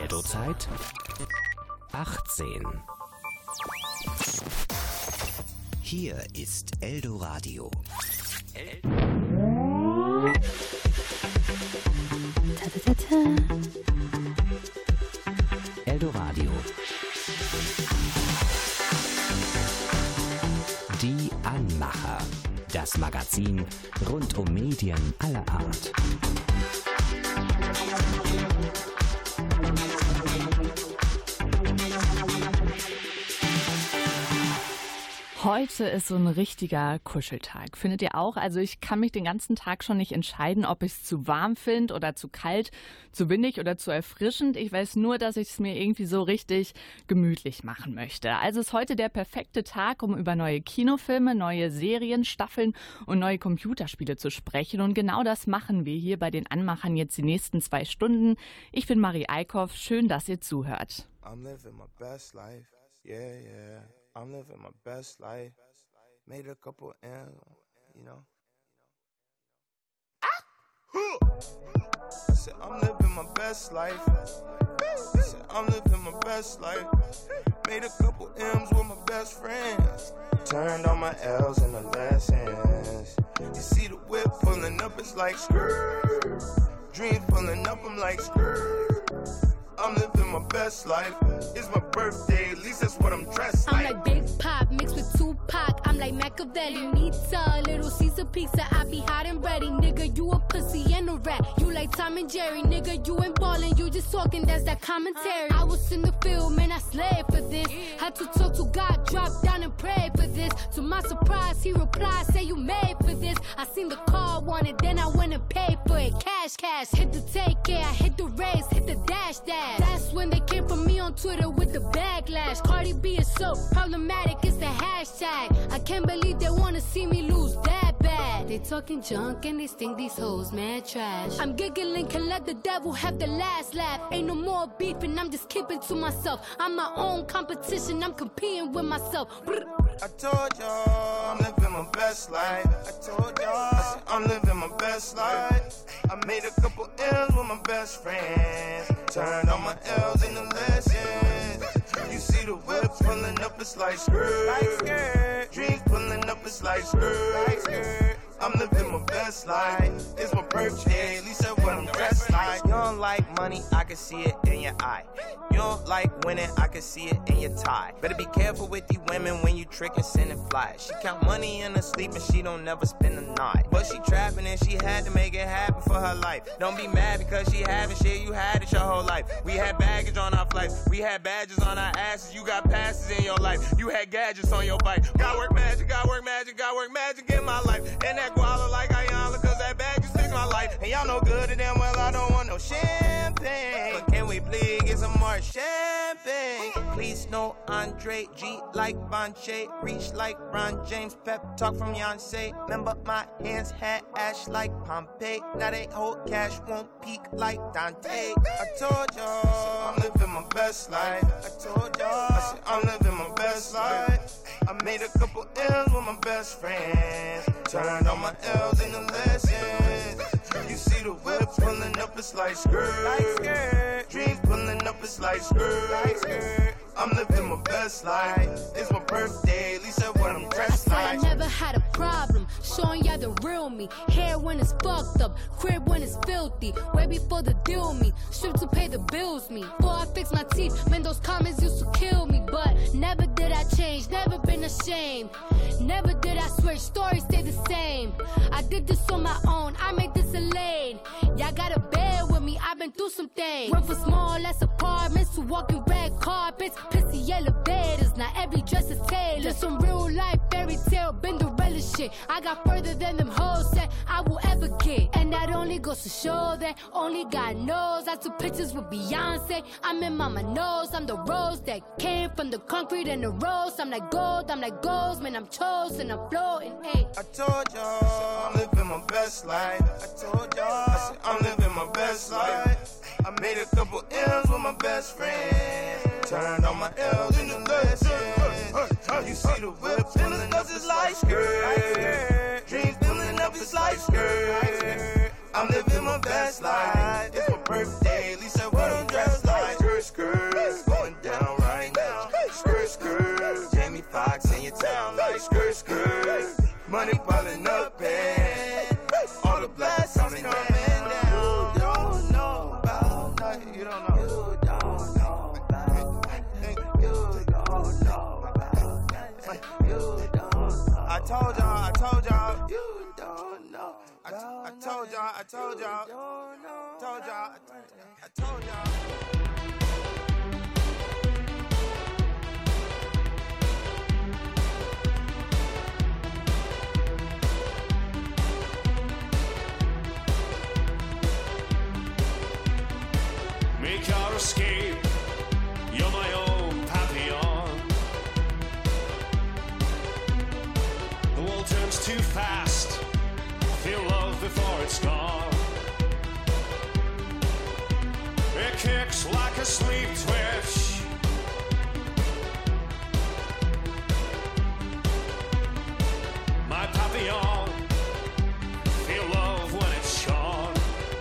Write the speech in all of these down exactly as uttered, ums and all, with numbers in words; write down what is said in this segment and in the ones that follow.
Portozeit achtzehn. Hier ist Eldoradio. El ta, ta, ta, ta. Eldoradio. Die Anmacher. Das Magazin rund um Medien aller Art. Heute ist so ein richtiger Kuscheltag. Findet ihr auch? Also ich kann mich den ganzen Tag schon nicht entscheiden, ob ich es zu warm finde oder zu kalt, zu windig oder zu erfrischend. Ich weiß nur, dass ich es mir irgendwie so richtig gemütlich machen möchte. Also ist heute der perfekte Tag, um über neue Kinofilme, neue Serien, Staffeln und neue Computerspiele zu sprechen. Und genau das machen wir hier bei den Anmachern jetzt die nächsten zwei Stunden. Ich bin Marie Eickhoff. Schön, dass ihr zuhört. I'm living my best life. Yeah, yeah. I'm living my best life. Made a couple M's, you know. I said, I'm living my best life. I said, I'm living my best life. Made a couple M's with my best friends. Turned all my L's into lessons. You see the whip pulling up, it's like skirt. Dreams pulling up, I'm like skirt. I'm living my best life. It's my birthday, at least that's what I'm dressed like. I'm like Big Pop mixed with Tupac. I'm like Machiavelli, Nita, Little Caesar pizza. I be hot and ready, nigga. You a pussy and a rat. You like Tom and Jerry, nigga. You ain't ballin', you just talking. That's that commentary. I was in the field, man. I slaved for this. Had to talk to God, drop down and pray for this. To my surprise, he replied, say you made for this. I seen the car wanted, then I went and paid for it. Cash, cash, hit the take care, I hit the race, hit the dash, dash. That's when they came for me on Twitter with the backlash. Cardi B is so problematic, it's the hashtag. I can't believe they wanna see me lose that bad. They talking junk and they think these hoes mad trash. I'm giggling, can let the devil have the last laugh. Ain't no more beefing, I'm just keeping to myself. I'm my own competition, I'm competing with myself. I told y'all I'm living my best life. I told y'all I said, I'm living my best life. I made a couple M's with my best friends. Turned all my L's into lessons. You see the whip pulling up, it's like skirt. Like skirt. Dreams pulling up, it's like skirt. Like skirt. I'm living my best life. It's my birthday, at least that's what I'm dressed like. You don't like money, I can see it in your eye. You don't like winning, I can see it in your tie. Better be careful with these women when you trick and send and fly. She count money in her sleep and she don't never spend the night. But she trapping and she had to make it happen for her life. Don't be mad because she having shit, you had it your whole life. We had baggage on our flights, we had badges on our asses. You got passes in your life, you had gadgets on your bike. Got work magic, got work magic, got work magic in my life. And that guala like Ayala, cause that bag just fixed my life. And y'all know good and damn well I don't want no champagne. But can we please get some more champagne? Please no Andre G like Bonche. Reach like Ron James. Pep talk from Beyonce. Remember my hands had ash like Pompeii. Now they hold cash, won't peak like Dante. I told y'all I'm living my best life. I told y'all I said I'm living my best life. I made a couple M's with my best friends. Turned all my L's into lessons. You see the whip pulling up, it's like skirt. Like skirt. Dreams pulling up, it's like skirt. Like skirt. I'm living my best life. It's my birthday, at least that's what I'm dressed I like. said I never had a problem showing y'all the real me. Hair when it's fucked up, crib when it's filthy. Way before the deal me, strip to pay the bills me. Before I fix my teeth, man, those comments used to kill me. But never did I change, never been ashamed. Never did I switch, stories stay the same. I did this on my own, I made this a lane. Y'all gotta bear with me, I've been through some things. Went from small ass apartments to walking red carpets. Pissy elevators, not every dress is tailored. Just some real life fairy tale, Cinderella shit. I got further than them hoes said I will ever get. And that only goes to show that only God knows. I took pictures with Beyonce, I'm in mama knows. I'm the rose that came from the concrete and the rose. I'm like gold, I'm like gold, man, I'm chosen, I'm floating, ayy. I told y'all I'm living my best life. I told y'all I said I'm living my best life. I made a couple M's with my best friend. Turned all my L's into lessons. You see the whip pulling up, it's like skirt. Dreams pulling up, it's like skirt. I'm living my best life. It's my birthday, at least that's what I'm dressed like. told y'all, I told y'all, told y'all, I told y'all. Make your escape, you're my own Papillon. The world turns too fast, feel love before it's gone. It kicks like a sleep twitch. My Papillon, feel love when it's shone.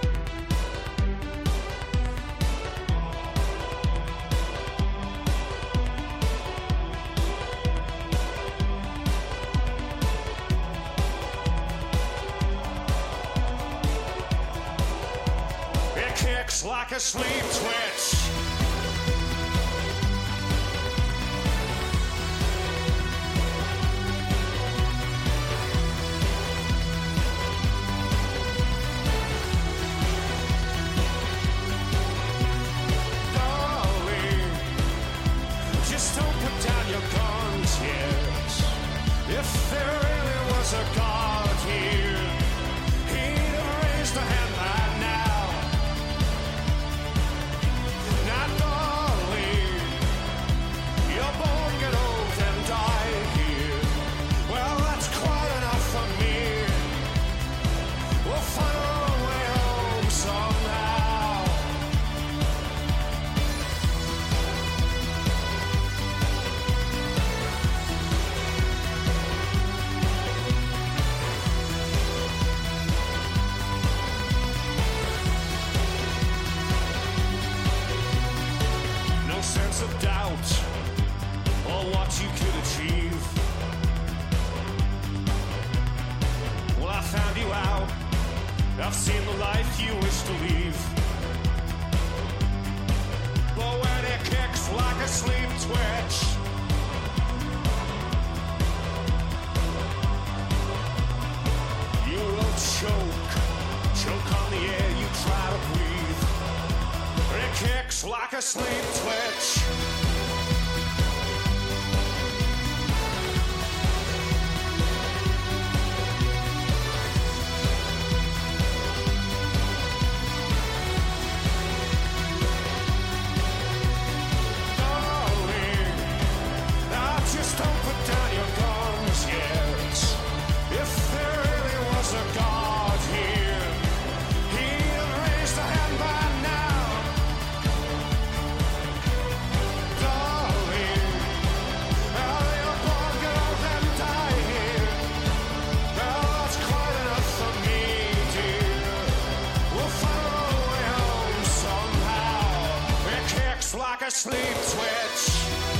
Like a sleep twitch. Darling, just don't put down your guns yet. If there really was a God here, he'd have raised a hand by now. Of doubt or what you could achieve. Well, I found you out. I've seen the life you wish to leave. But when it kicks like a sleep twitch, you will choke, choke on the air you try to breathe. It kicks like a sleep twitch. Darling, now just don't put down your guns yet. If there really was a God here, he'd have raised a hand by now. Like a sleep twitch.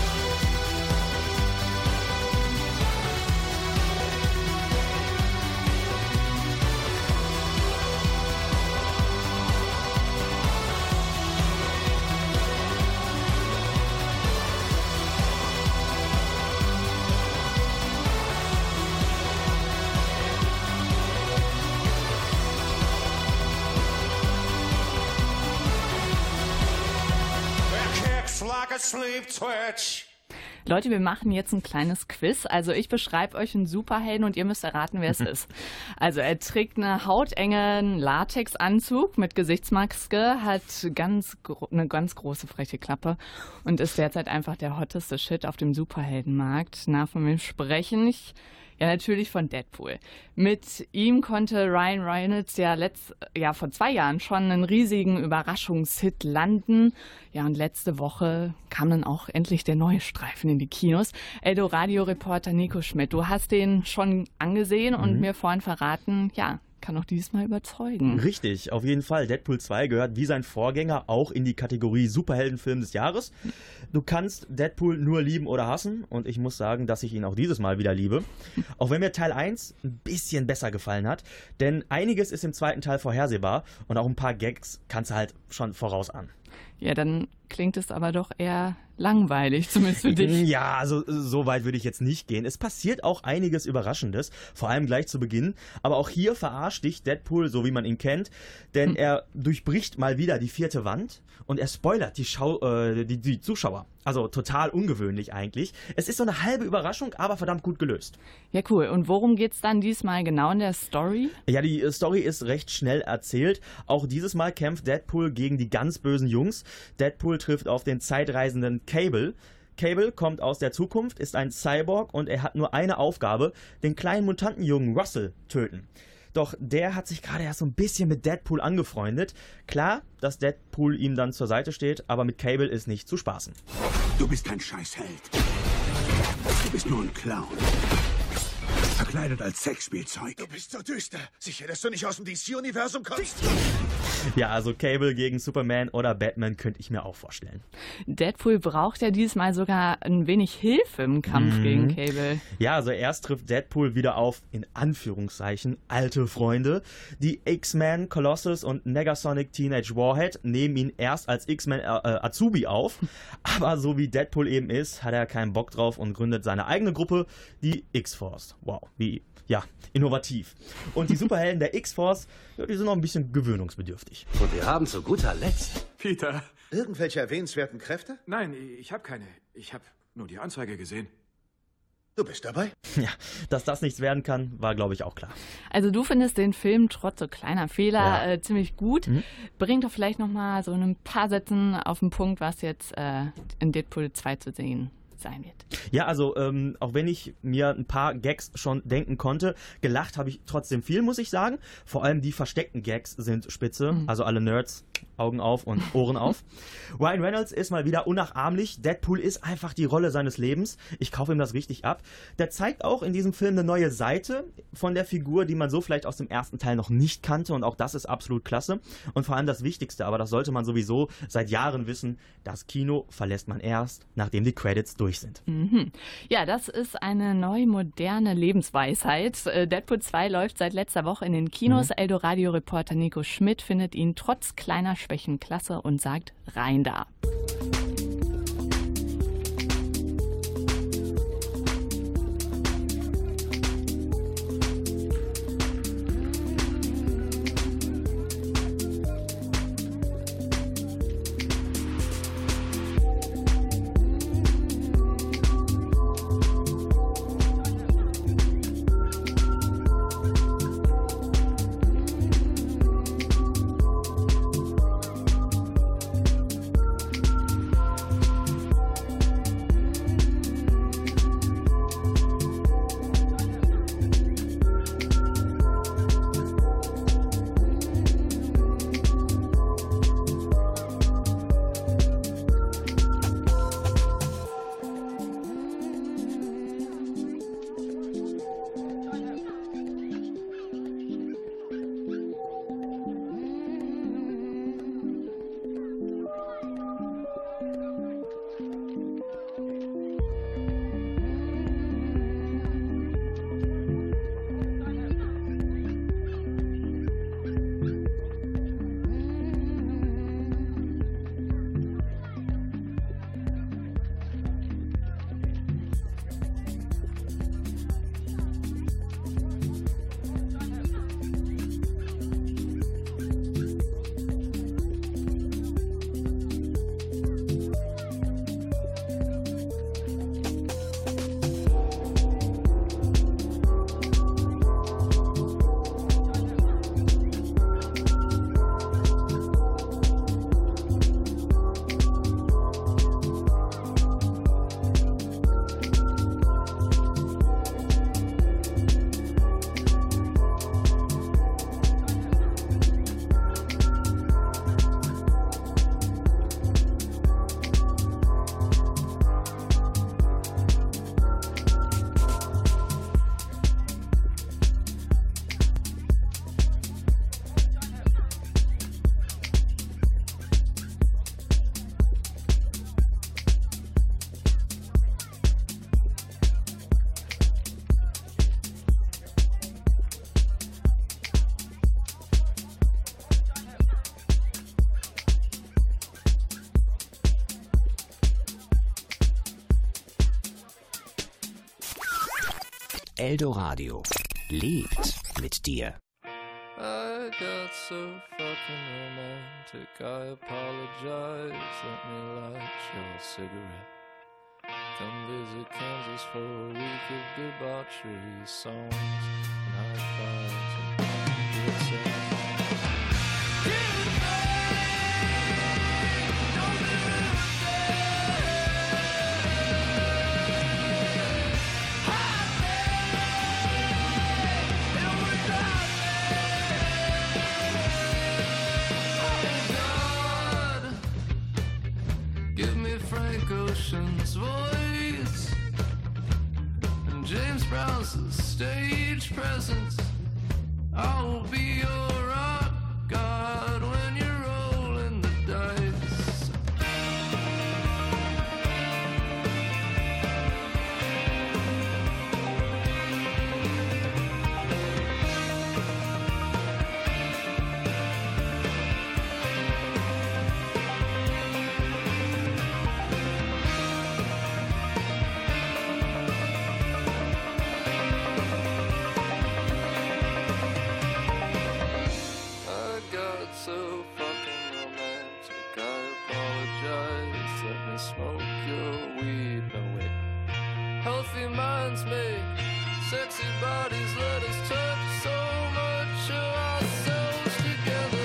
Like a sleep twitch. Leute, wir machen jetzt ein kleines Quiz. Also ich beschreibe euch einen Superhelden und ihr müsst erraten, wer es ist. Also er trägt einen hautengen Latexanzug mit Gesichtsmaske, hat ganz eine ganz große freche Klappe und ist derzeit einfach der hotteste Shit auf dem Superheldenmarkt. Na, von wem sprechen? Ich Ja, natürlich von Deadpool. Mit ihm konnte Ryan Reynolds ja, letzt, ja vor zwei Jahren schon einen riesigen Überraschungshit landen. Ja, und letzte Woche kam dann auch endlich der neue Streifen in die Kinos. Eldoradio-Reporter Nico Schmidt, du hast den schon angesehen und mhm. mir vorhin verraten, ja, kann auch diesmal überzeugen. Richtig, auf jeden Fall. Deadpool zwei gehört wie sein Vorgänger auch in die Kategorie Superheldenfilm des Jahres. Du kannst Deadpool nur lieben oder hassen und ich muss sagen, dass ich ihn auch dieses Mal wieder liebe. Auch wenn mir Teil eins ein bisschen besser gefallen hat, denn einiges ist im zweiten Teil vorhersehbar und auch ein paar Gags kannst du halt schon voraus an. Ja, dann klingt es aber doch eher langweilig, zumindest für dich. Ja, also so weit würde ich jetzt nicht gehen. Es passiert auch einiges Überraschendes, vor allem gleich zu Beginn. Aber auch hier verarscht dich Deadpool, so wie man ihn kennt, denn hm. er durchbricht mal wieder die vierte Wand und er spoilert die, Schau- äh, die, die Zuschauer. Also total ungewöhnlich eigentlich. Es ist so eine halbe Überraschung, aber verdammt gut gelöst. Ja, cool. Und worum geht's dann diesmal genau in der Story? Ja, die Story ist recht schnell erzählt. Auch dieses Mal kämpft Deadpool gegen die ganz bösen Jungs. Deadpool trifft auf den zeitreisenden Cable. Cable kommt aus der Zukunft, ist ein Cyborg und er hat nur eine Aufgabe, den kleinen Mutantenjungen Russell töten. Doch der hat sich gerade erst so ein bisschen mit Deadpool angefreundet. Klar, dass Deadpool ihm dann zur Seite steht, aber mit Cable ist nicht zu spaßen. Du bist kein Scheißheld. Du bist nur ein Clown. Verkleidet als Sexspielzeug. Du bist so düster. Sicher, dass du nicht aus dem D C-Universum kommst? Ja, also Cable gegen Superman oder Batman könnte ich mir auch vorstellen. Deadpool braucht ja diesmal sogar ein wenig Hilfe im Kampf mhm. gegen Cable. Ja, also erst trifft Deadpool wieder auf, in Anführungszeichen, alte Freunde. Die X-Men, Colossus und Negasonic Teenage Warhead nehmen ihn erst als X-Men äh, Azubi auf. Aber so wie Deadpool eben ist, hat er keinen Bock drauf und gründet seine eigene Gruppe, die X-Force. Wow, wie, ja, innovativ. Und die Superhelden der X-Force, ja, die sind noch ein bisschen gewöhnungsbedürftig. Und wir haben zu guter Letzt... Peter. Irgendwelche erwähnenswerten Kräfte? Nein, ich habe keine. Ich habe nur die Anzeige gesehen. Du bist dabei? Ja, dass das nichts werden kann, war, glaube ich, auch klar. Also du findest den Film trotz so kleiner Fehler ja. äh, ziemlich gut. Mhm. Bring doch vielleicht noch mal so ein paar Sätzen auf den Punkt, was jetzt äh, in Deadpool zwei zu sehen sein wird. Ja, also ähm, auch wenn ich mir ein paar Gags schon denken konnte, gelacht habe ich trotzdem viel, muss ich sagen. Vor allem die versteckten Gags sind spitze, mhm. also alle Nerds, Augen auf und Ohren auf. Ryan Reynolds ist mal wieder unnachahmlich. Deadpool ist einfach die Rolle seines Lebens. Ich kaufe ihm das richtig ab. Der zeigt auch in diesem Film eine neue Seite von der Figur, die man so vielleicht aus dem ersten Teil noch nicht kannte und auch das ist absolut klasse. Und vor allem das Wichtigste, aber das sollte man sowieso seit Jahren wissen, das Kino verlässt man erst, nachdem die Credits durch sind. Mhm. Ja, das ist eine neu moderne Lebensweisheit. Deadpool zwei läuft seit letzter Woche in den Kinos. Mhm. Eldoradio-Reporter Nico Schmidt findet ihn trotz kleiner Schwächen klasse und sagt rein da. Eldoradio lebt mit dir. I got so fucking romantic, I apologize, let me light your cigarette. Come visit Kansas for a week of debauchery, songs and high fives and good sex. Ocean's voice and James Brown's stage presence. I will be your rock god when you're rolling the dice. Minds make sexy bodies, let us touch so much of ourselves together.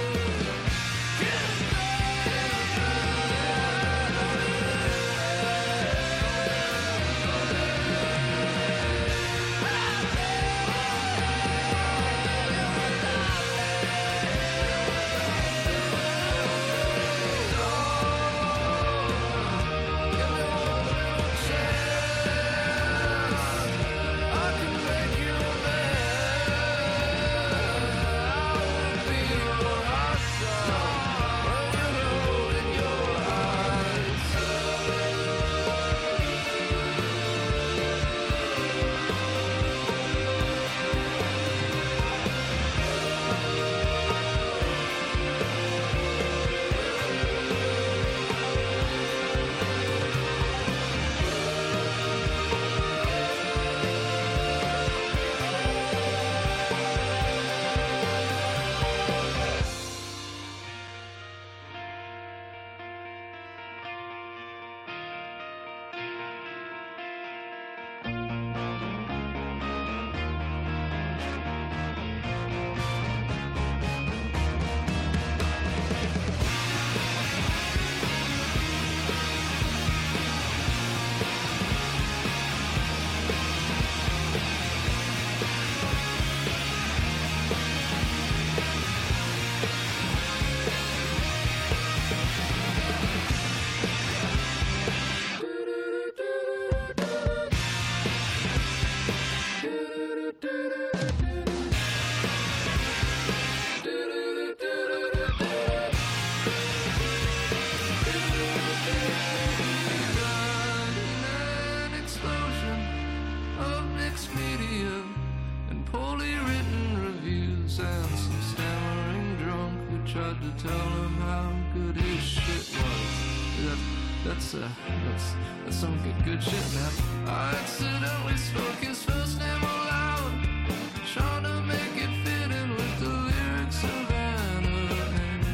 That's, uh, that's, that's some good, good shit, man. I accidentally spoke his first name aloud, trying to make it fit in with the lyrics of Anna, and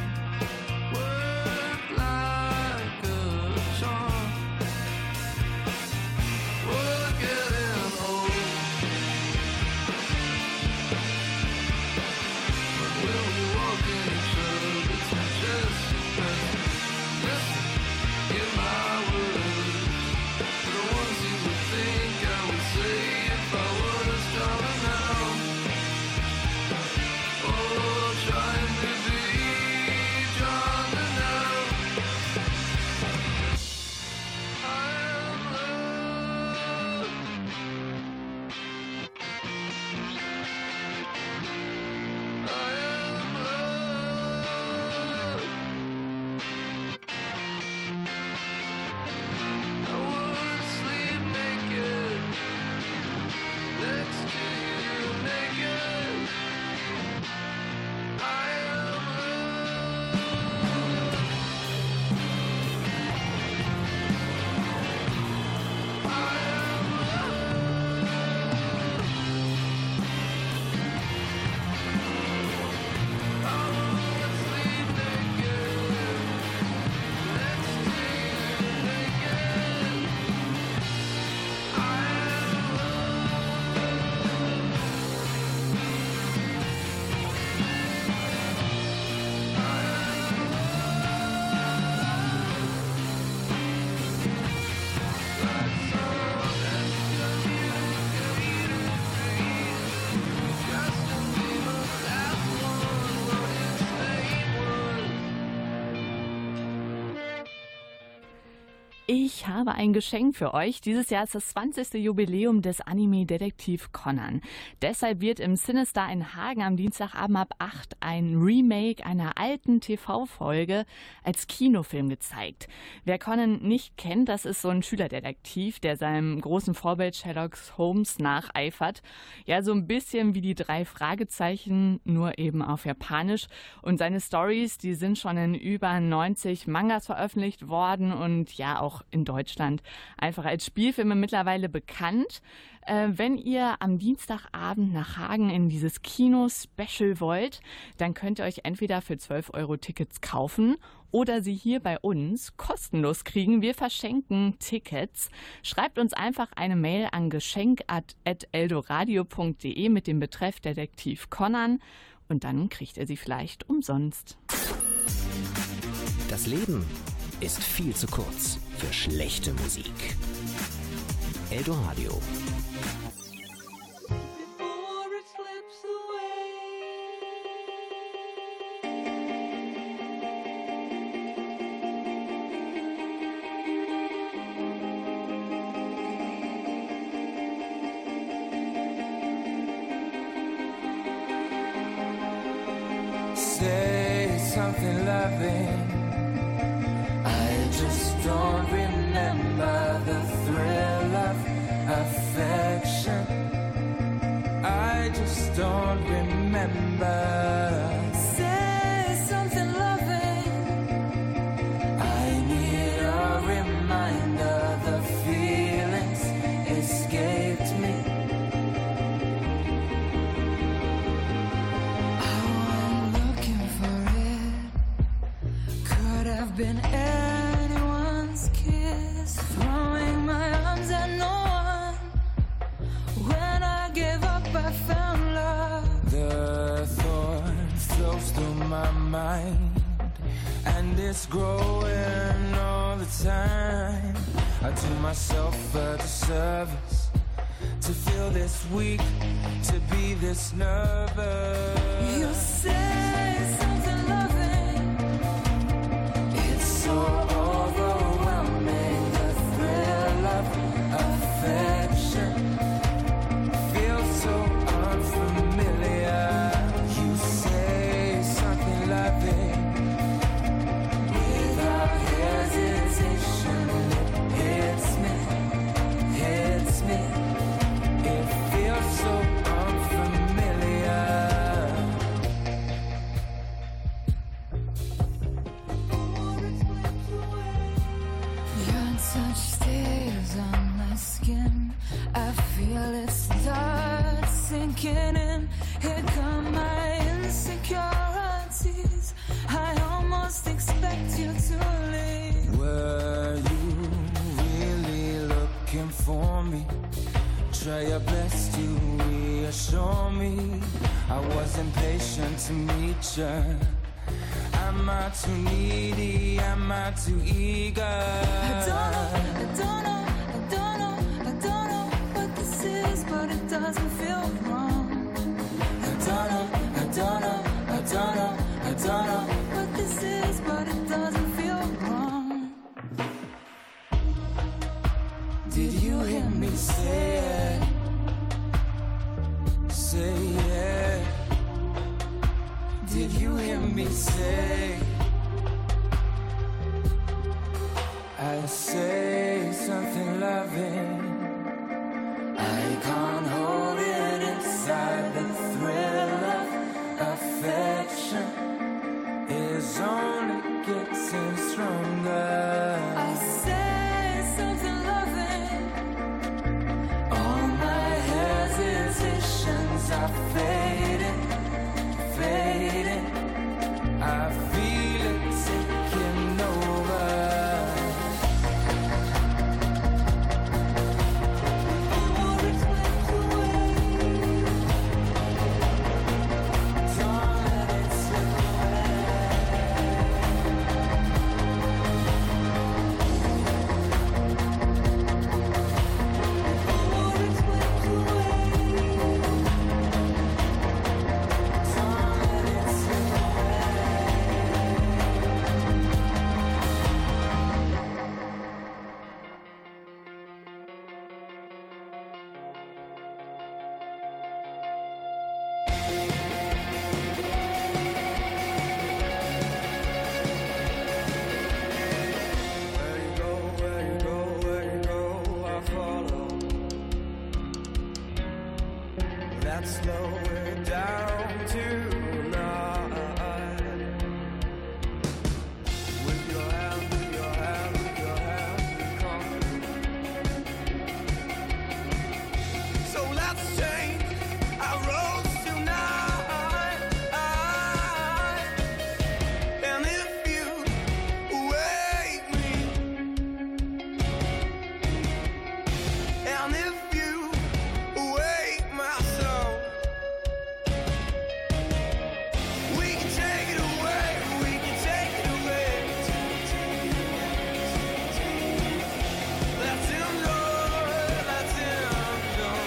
work like a charm. We're getting old, but we'll be walking each other's just present. Listen, give my words, the ones you would think I would say if I was Ich habe ein Geschenk für euch. Dieses Jahr ist das zwanzigste Jubiläum des Anime-Detektiv Conan. Deshalb wird im Cinestar in Hagen am Dienstagabend ab acht ein Remake einer alten T V-Folge als Kinofilm gezeigt. Wer Conan nicht kennt, das ist so ein Schülerdetektiv, der seinem großen Vorbild Sherlock Holmes nacheifert. Ja, so ein bisschen wie die drei Fragezeichen, nur eben auf Japanisch. Und seine Stories, die sind schon in über neunzig Mangas veröffentlicht worden und ja auch in Deutschland einfach als Spielfilme mittlerweile bekannt. Äh, wenn ihr am Dienstagabend nach Hagen in dieses Kino-Special wollt, dann könnt ihr euch entweder für zwölf Euro Tickets kaufen oder sie hier bei uns kostenlos kriegen. Wir verschenken Tickets. Schreibt uns einfach eine Mail an geschenk at eldoradio punkt de mit dem Betreff Detektiv Conan und dann kriegt ihr sie vielleicht umsonst. Das Leben ist viel zu kurz für schlechte Musik. Eldoradio. Say something loving. I just don't remember the thrill of affection. I just don't remember. Say something loving. I need a reminder. The feelings escaped me. Been anyone's kiss, throwing my arms at no one. When I gave up, I found love. The thorn flows through my mind, and it's growing all the time. I do myself a disservice to feel this weak, to be this nervous. You say something loving. So overwhelming, the thrill of affection feels so unfamiliar. You say something loving without hesitation. It hits me, hits me. It feels so unfamiliar. Touch stays on my skin. I feel it start sinking in. Here come my insecurities. I almost expect you to leave. Were you really looking for me? Try your best to reassure me. I was impatient to meet you. Am I too needy? Am I too eager? I don't know, I don't know, I don't know, I don't know what this is, but it doesn't feel wrong. I don't know, I don't know, I don't know, I don't know what this is, but it doesn't feel wrong. Did you hear me say it? Say it. Did you hear me say? I say something loving. I can't hold it inside. The thrill of affection is only getting stronger. I say something loving. All my hesitations are fading, fading. I feel it taking over. More explain let's slow it down tonight. With your hand, with your hand, with your hand, come. So let's change our roads tonight. And if you wake me, and if you wake my soul, we can take it away, we can take it away. Let's enjoy, let's enjoy.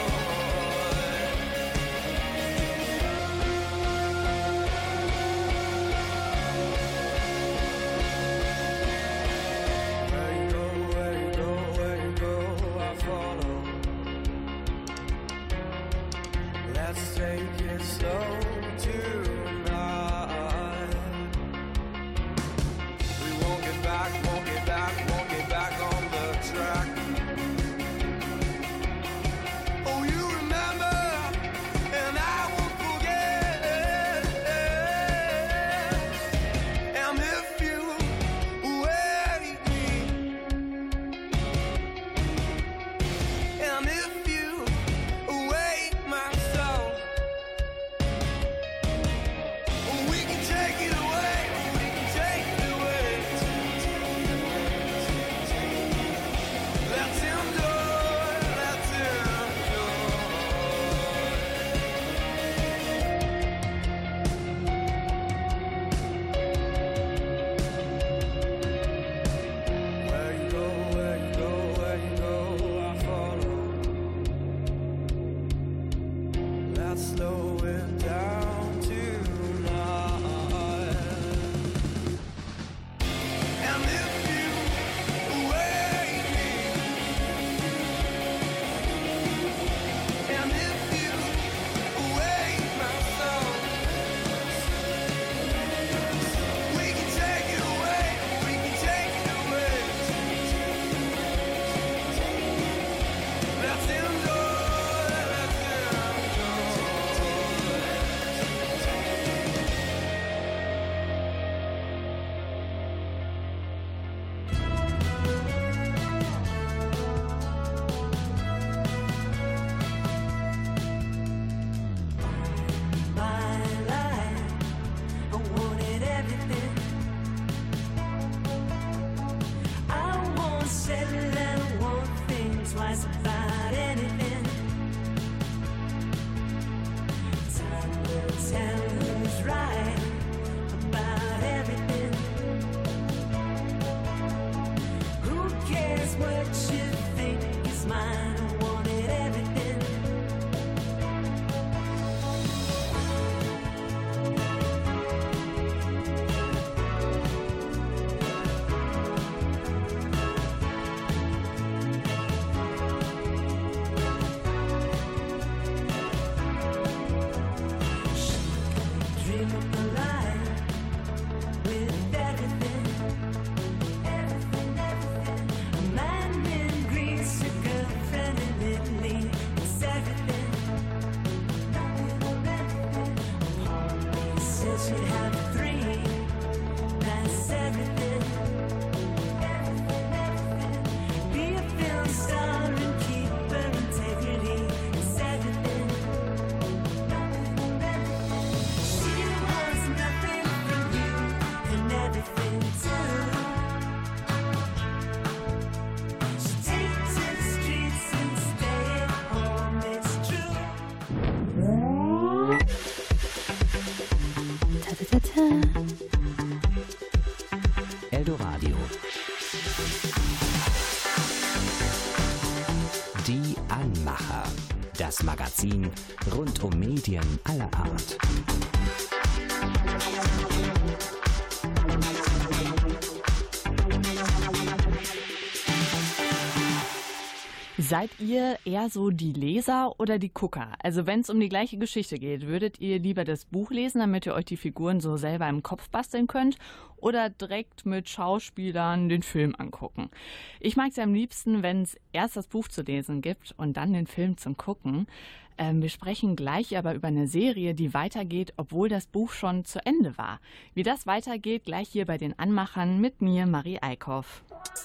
Where you go, where you go, where you go, I follow. Let's take it slow tonight. We won't get back, won't get back, won't get back on the track. Oh, you remember, and I won't forget. And if you wake me, and if you wake my soul, we can take it away, we can take it away. Let's enjoy, let's enjoy. Where you go, where you go, where you go, I follow. Let's slow it down tonight. And if you wake me, and if you wake my soul, we can take it away, we can take it away. Let's enjoy, let's enjoy. My life, I wanted everything. I won't settle and I won't think twice about anything. Time will tell who's right about everything. Who cares what you think is mine? I wanted everything. Dream of a life with everything, everything, everything. A man in Greece, a girlfriend in Italy. It's everything, nothing or anything. Paul says you have three. That's everything, everything, everything. Be a film star and keep her integrity. It's everything, nothing or anything. She wants nothing from you and everything too. She takes to the streets and stay at home, it's true. Ta-ta-ta-ta. Eldoradio. Die Anmacher. Das Magazin rund um Medien aller Art. Seid ihr eher so die Leser oder die Gucker? Also wenn es um die gleiche Geschichte geht, würdet ihr lieber das Buch lesen, damit ihr euch die Figuren so selber im Kopf basteln könnt, oder direkt mit Schauspielern den Film angucken? Ich mag es ja am liebsten, wenn es erst das Buch zu lesen gibt und dann den Film zum Gucken. Ähm, wir sprechen gleich aber über eine Serie, die weitergeht, obwohl das Buch schon zu Ende war. Wie das weitergeht, gleich hier bei den Anmachern mit mir, Marie Eickhoff.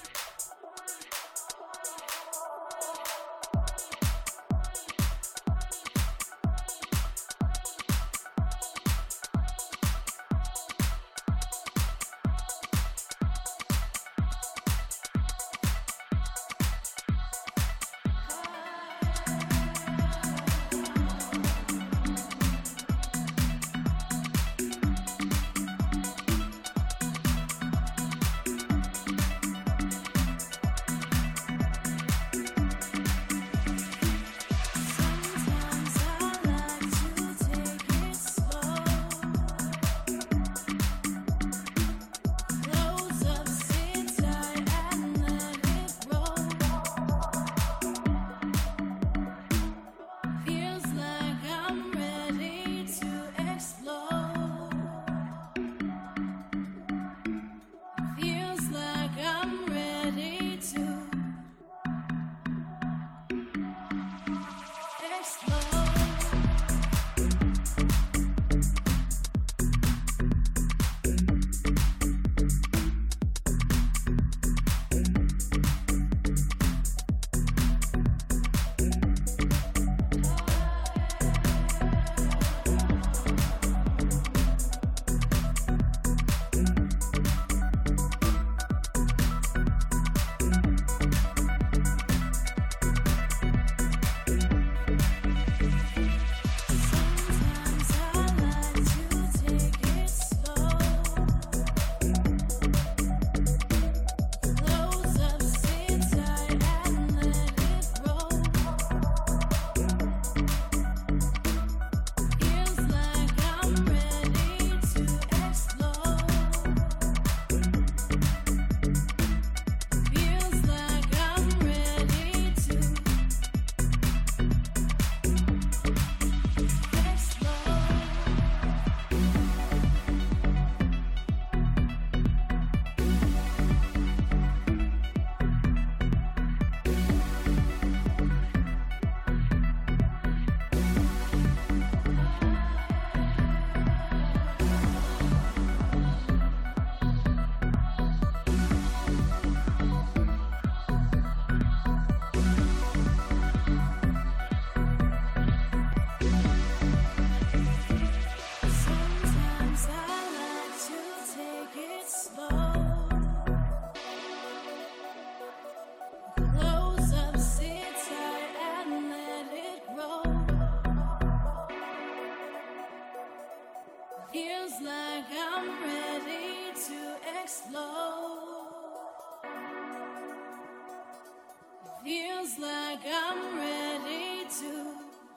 Feels like I'm ready to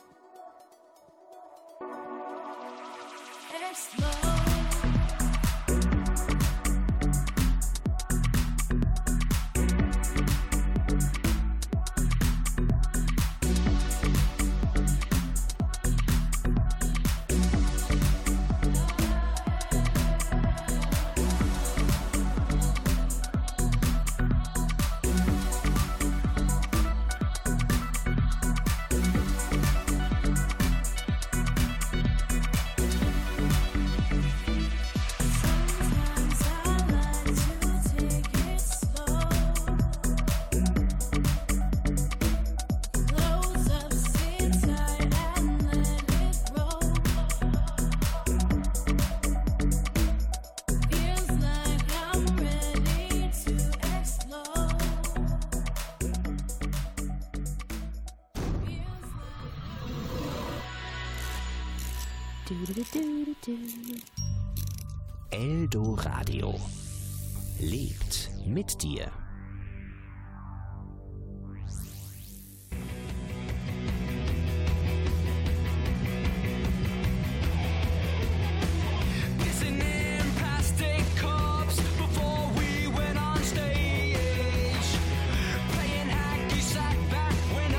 explode. Eldoradio lebt mit dir. When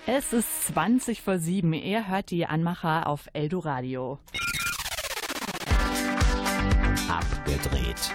Es ist zwanzig vor sieben. Ihr hört die Anmacher auf Eldoradio. Abgedreht.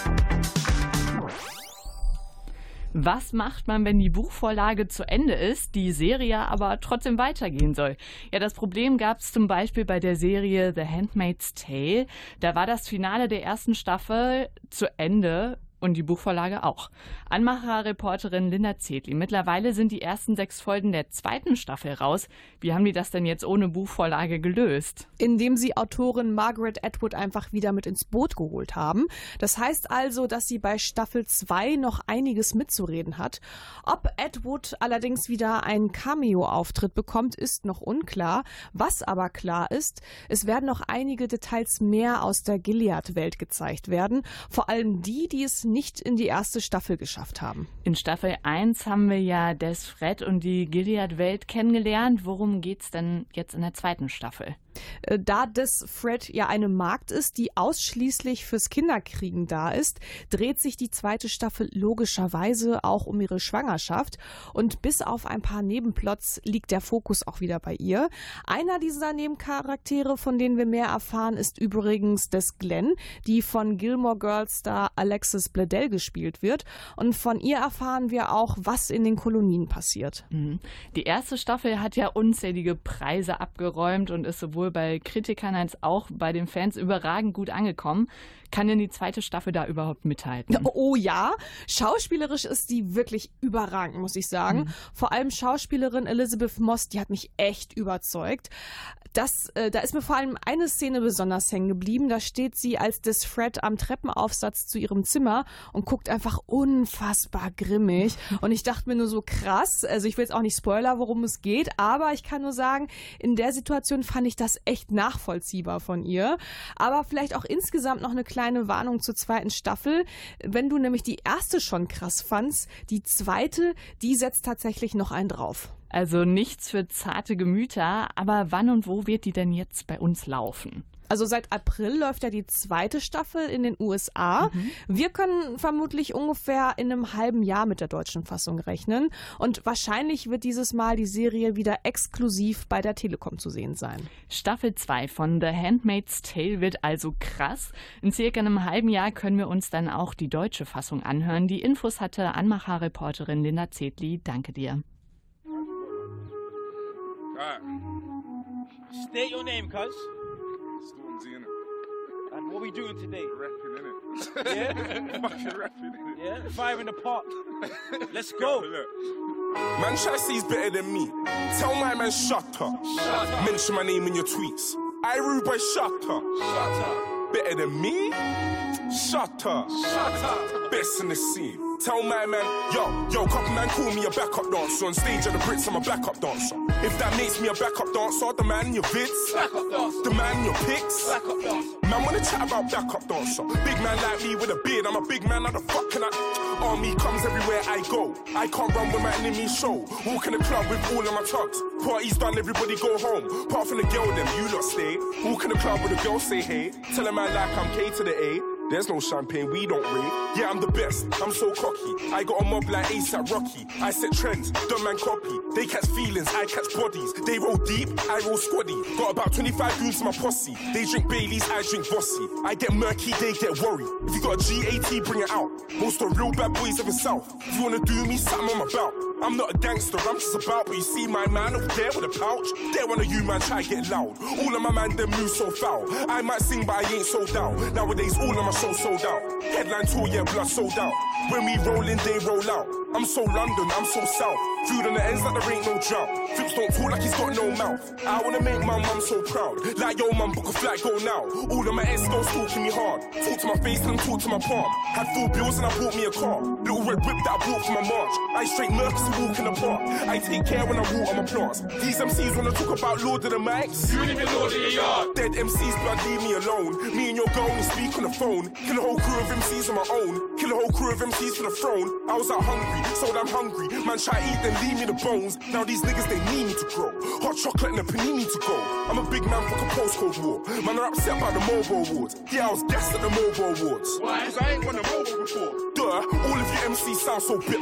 Was macht man, wenn die Buchvorlage zu Ende ist, die Serie aber trotzdem weitergehen soll? Ja, das Problem gab es zum Beispiel bei der Serie The Handmaid's Tale. Da war das Finale der ersten Staffel zu Ende. Und die Buchvorlage auch. Anmacher-Reporterin Linda Zedli. Mittlerweile sind die ersten sechs Folgen der zweiten Staffel raus. Wie haben die das denn jetzt ohne Buchvorlage gelöst? Indem sie Autorin Margaret Atwood einfach wieder mit ins Boot geholt haben. Das heißt also, dass sie bei Staffel zwei noch einiges mitzureden hat. Ob Atwood allerdings wieder einen Cameo-Auftritt bekommt, ist noch unklar. Was aber klar ist, es werden noch einige Details mehr aus der Gilead-Welt gezeigt werden. Vor allem die, die es nicht in die erste Staffel geschafft haben. In Staffel eins haben wir ja Des Fred und die Gilead-Welt kennengelernt. Worum geht's denn jetzt in der zweiten Staffel? Da Des Fred ja eine Magd ist, die ausschließlich fürs Kinderkriegen da ist, dreht sich die zweite Staffel logischerweise auch um ihre Schwangerschaft. Und bis auf ein paar Nebenplots liegt der Fokus auch wieder bei ihr. Einer dieser Nebencharaktere, von denen wir mehr erfahren, ist übrigens Des Glenn, die von Gilmore Girls Star Alexis Bledel gespielt wird. Und von ihr erfahren wir auch, was in den Kolonien passiert. Mhm. Die erste Staffel hat ja unzählige Preise abgeräumt und ist sowohl bei Kritikern als auch bei den Fans überragend gut angekommen. Kann denn die zweite Staffel da überhaupt mithalten? Oh ja, schauspielerisch ist die wirklich überragend, muss ich sagen. Mhm. Vor allem Schauspielerin Elizabeth Moss, die hat mich echt überzeugt. Das, äh, da ist mir vor allem eine Szene besonders hängen geblieben. Da steht sie als Des Fred am Treppenaufsatz zu ihrem Zimmer und guckt einfach unfassbar grimmig. Und ich dachte mir nur so, krass, also ich will jetzt auch nicht spoilern, worum es geht, aber ich kann nur sagen, in der Situation fand ich das echt nachvollziehbar von ihr. Aber vielleicht auch insgesamt noch eine kleine Warnung zur zweiten Staffel. Wenn du nämlich die erste schon krass fandst, die zweite, die setzt tatsächlich noch einen drauf. Also nichts für zarte Gemüter, aber wann und wo wird die denn jetzt bei uns laufen? Also seit April läuft ja die zweite Staffel in den U S A. Mhm. Wir können vermutlich ungefähr in einem halben Jahr mit der deutschen Fassung rechnen. Und wahrscheinlich wird dieses Mal die Serie wieder exklusiv bei der Telekom zu sehen sein. Staffel zwei von The Handmaid's Tale wird also krass. In circa einem halben Jahr können wir uns dann auch die deutsche Fassung anhören. Die Infos hatte Anmacher-Reporterin Linda Zedli. Danke dir. Alright. State your name, cuz. Stormzy, innit? And what we doing today? Rapping, innit? Yeah? Fucking rapping, innit? Yeah? Fire in the pot. Let's go. Man try to say he's better than me. Tell my man shut up. Shut up. Mention my name in your tweets. I rude boy, shut up. Shut up. Better than me? Shut up. Shut up. Best in the scene. Tell my man, yo, yo, couple man call me a backup dancer. On stage at the Brits, I'm a backup dancer. If that makes me a backup dancer, the man in your vids, backup dancer. The man in your pics, backup dancer. Man wanna chat about backup dancer. Big man like me with a beard, I'm a big man, how the fuck can I? Army comes everywhere I go. I can't run with my enemies show. Walk in the club with all of my tugs. Party's done, everybody go home. Apart from the girl, them you lot stay. Walk in the club with a girl, say hey. Tell a man like I'm K to the A. There's no champagne, we don't rate. Yeah, I'm the best, I'm so cocky. I got a mob like ASAP Rocky. I set trends, don't man copy. They catch feelings, I catch bodies. They roll deep, I roll squaddy. Got about twenty-five dudes in my posse. They drink Baileys, I drink Bossy. I get murky, they get worried. If you got a G A T, bring it out. Most of the real bad boys of the South. If you wanna do me, something on my belt. I'm not a gangster, I'm just about. But you see my man over there with a pouch. There one of you man try get loud. All of my man them move so foul. I might sing but I ain't sold out. Nowadays all of my shows sold out. Headline tour, yeah, blood sold out. When we roll in, they roll out. I'm so London, I'm so south. Food on the ends like there ain't no drought. Flips don't talk like he's got no mouth. I wanna make my mum so proud. Like yo mum, book a flight, go now. All of my ex-girls talking me hard. Talk to my face and talk to my palm. Had full bills and I bought me a car. Little red whip that I bought for my march. I straight Mercs and walk in the park. I take care when I walk on my plants. These M Cs wanna talk about Lord of the Mics. You ain't even Lord of the Yard. Dead M Cs, blood, leave me alone. Me and your girl only speak on the phone. Kill a whole crew of M Cs on my own. Kill a whole crew of M Cs for the throne. I was out hungry, so damn hungry. Man try to eat, then leave me the bones. Now these niggas, they need me to grow. Hot chocolate and a panini to go. I'm a big man, fuck a postcode war. Man are upset about the Mobo Awards. Yeah, I was gassed at the Mobo Awards. Why? Cause I ain't won a Mobo before. Duh, all of you M Cs sound so bitter.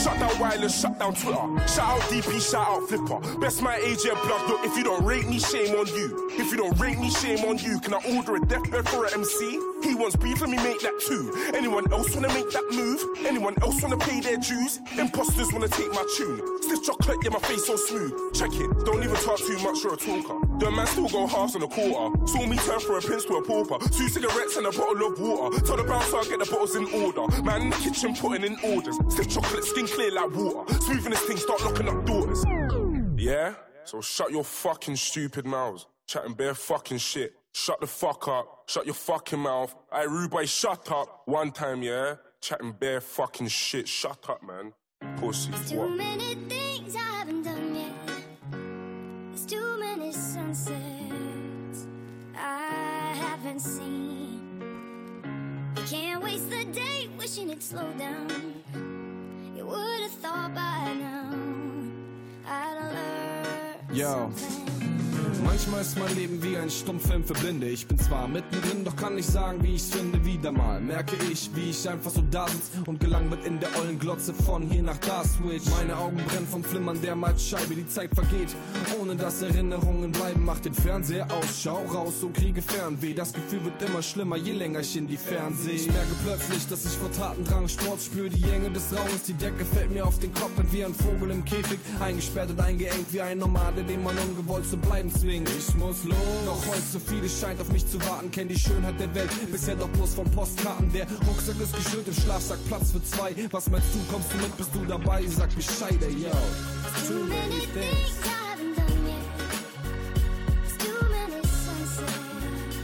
Shut down wireless, shut down Twitter. Shout out D P, shout out Flipper. Best my age, yeah, blood. Look, if you don't rate me, shame on you. If you don't rate me, shame on you. Can I order a deathbed for an M C? He wants beef, let me make that too. Anyone else wanna make that move? Anyone else wanna pay their dues? Imposters wanna take my tune. Stiff chocolate, yeah, my face so smooth. Check it, don't even talk too much, you're a talker. The man still go halves on a quarter. Saw me turn for a prince to a pauper. Two cigarettes and a bottle of water. Tell the bouncer I'll get the bottles in order. Man in the kitchen putting in orders. Stiff chocolate, skin clear like water. Smoothing this thing, start locking up doors. Yeah? So shut your fucking stupid mouths. Chatting bare fucking shit. Shut the fuck up. Shut your fucking mouth. Aye, rude boy, shut up. One time, yeah? Chatting bare fucking shit. Shut up, man. Pussy. There's too what? many things I haven't done yet. There's too many sunsets I haven't seen. You can't waste the day wishing it'd slow down. You would have thought by now I'd learned Yo. something. Manchmal ist mein Leben wie ein Stummfilm für Blinde. Ich bin zwar mittendrin, doch kann nicht sagen, wie ich's finde. Wieder mal merke ich, wie ich einfach so da sitz und gelangweilt in der ollen Glotze von hier nach da switch. Meine Augen brennen vom Flimmern der Malzscheibe, die Zeit vergeht, ohne dass Erinnerungen bleiben. Mach den Fernseher aus, schau raus, so kriege Fernweh. Das Gefühl wird immer schlimmer, je länger ich in die Ferne sehe. Ich merke plötzlich, dass ich vor Tatendrang Sport spüre. Die Enge des Raumes, die Decke fällt mir auf den Kopf, bin wie ein Vogel im Käfig, eingesperrt und eingeengt wie ein Nomade, den man ungewollt zu bleiben zwingt. Ich muss los, doch heute so vieles scheint auf mich zu warten. Kenn die Schönheit der Welt, bisher doch bloß von Postkarten. Der Rucksack ist geschüttet, im Schlafsack Platz für zwei. Was meinst du, kommst du mit, bist du dabei? Sag Bescheid, ey, yo. Too many things I haven't done yet. There's too many sunsets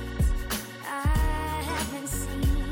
I haven't seen.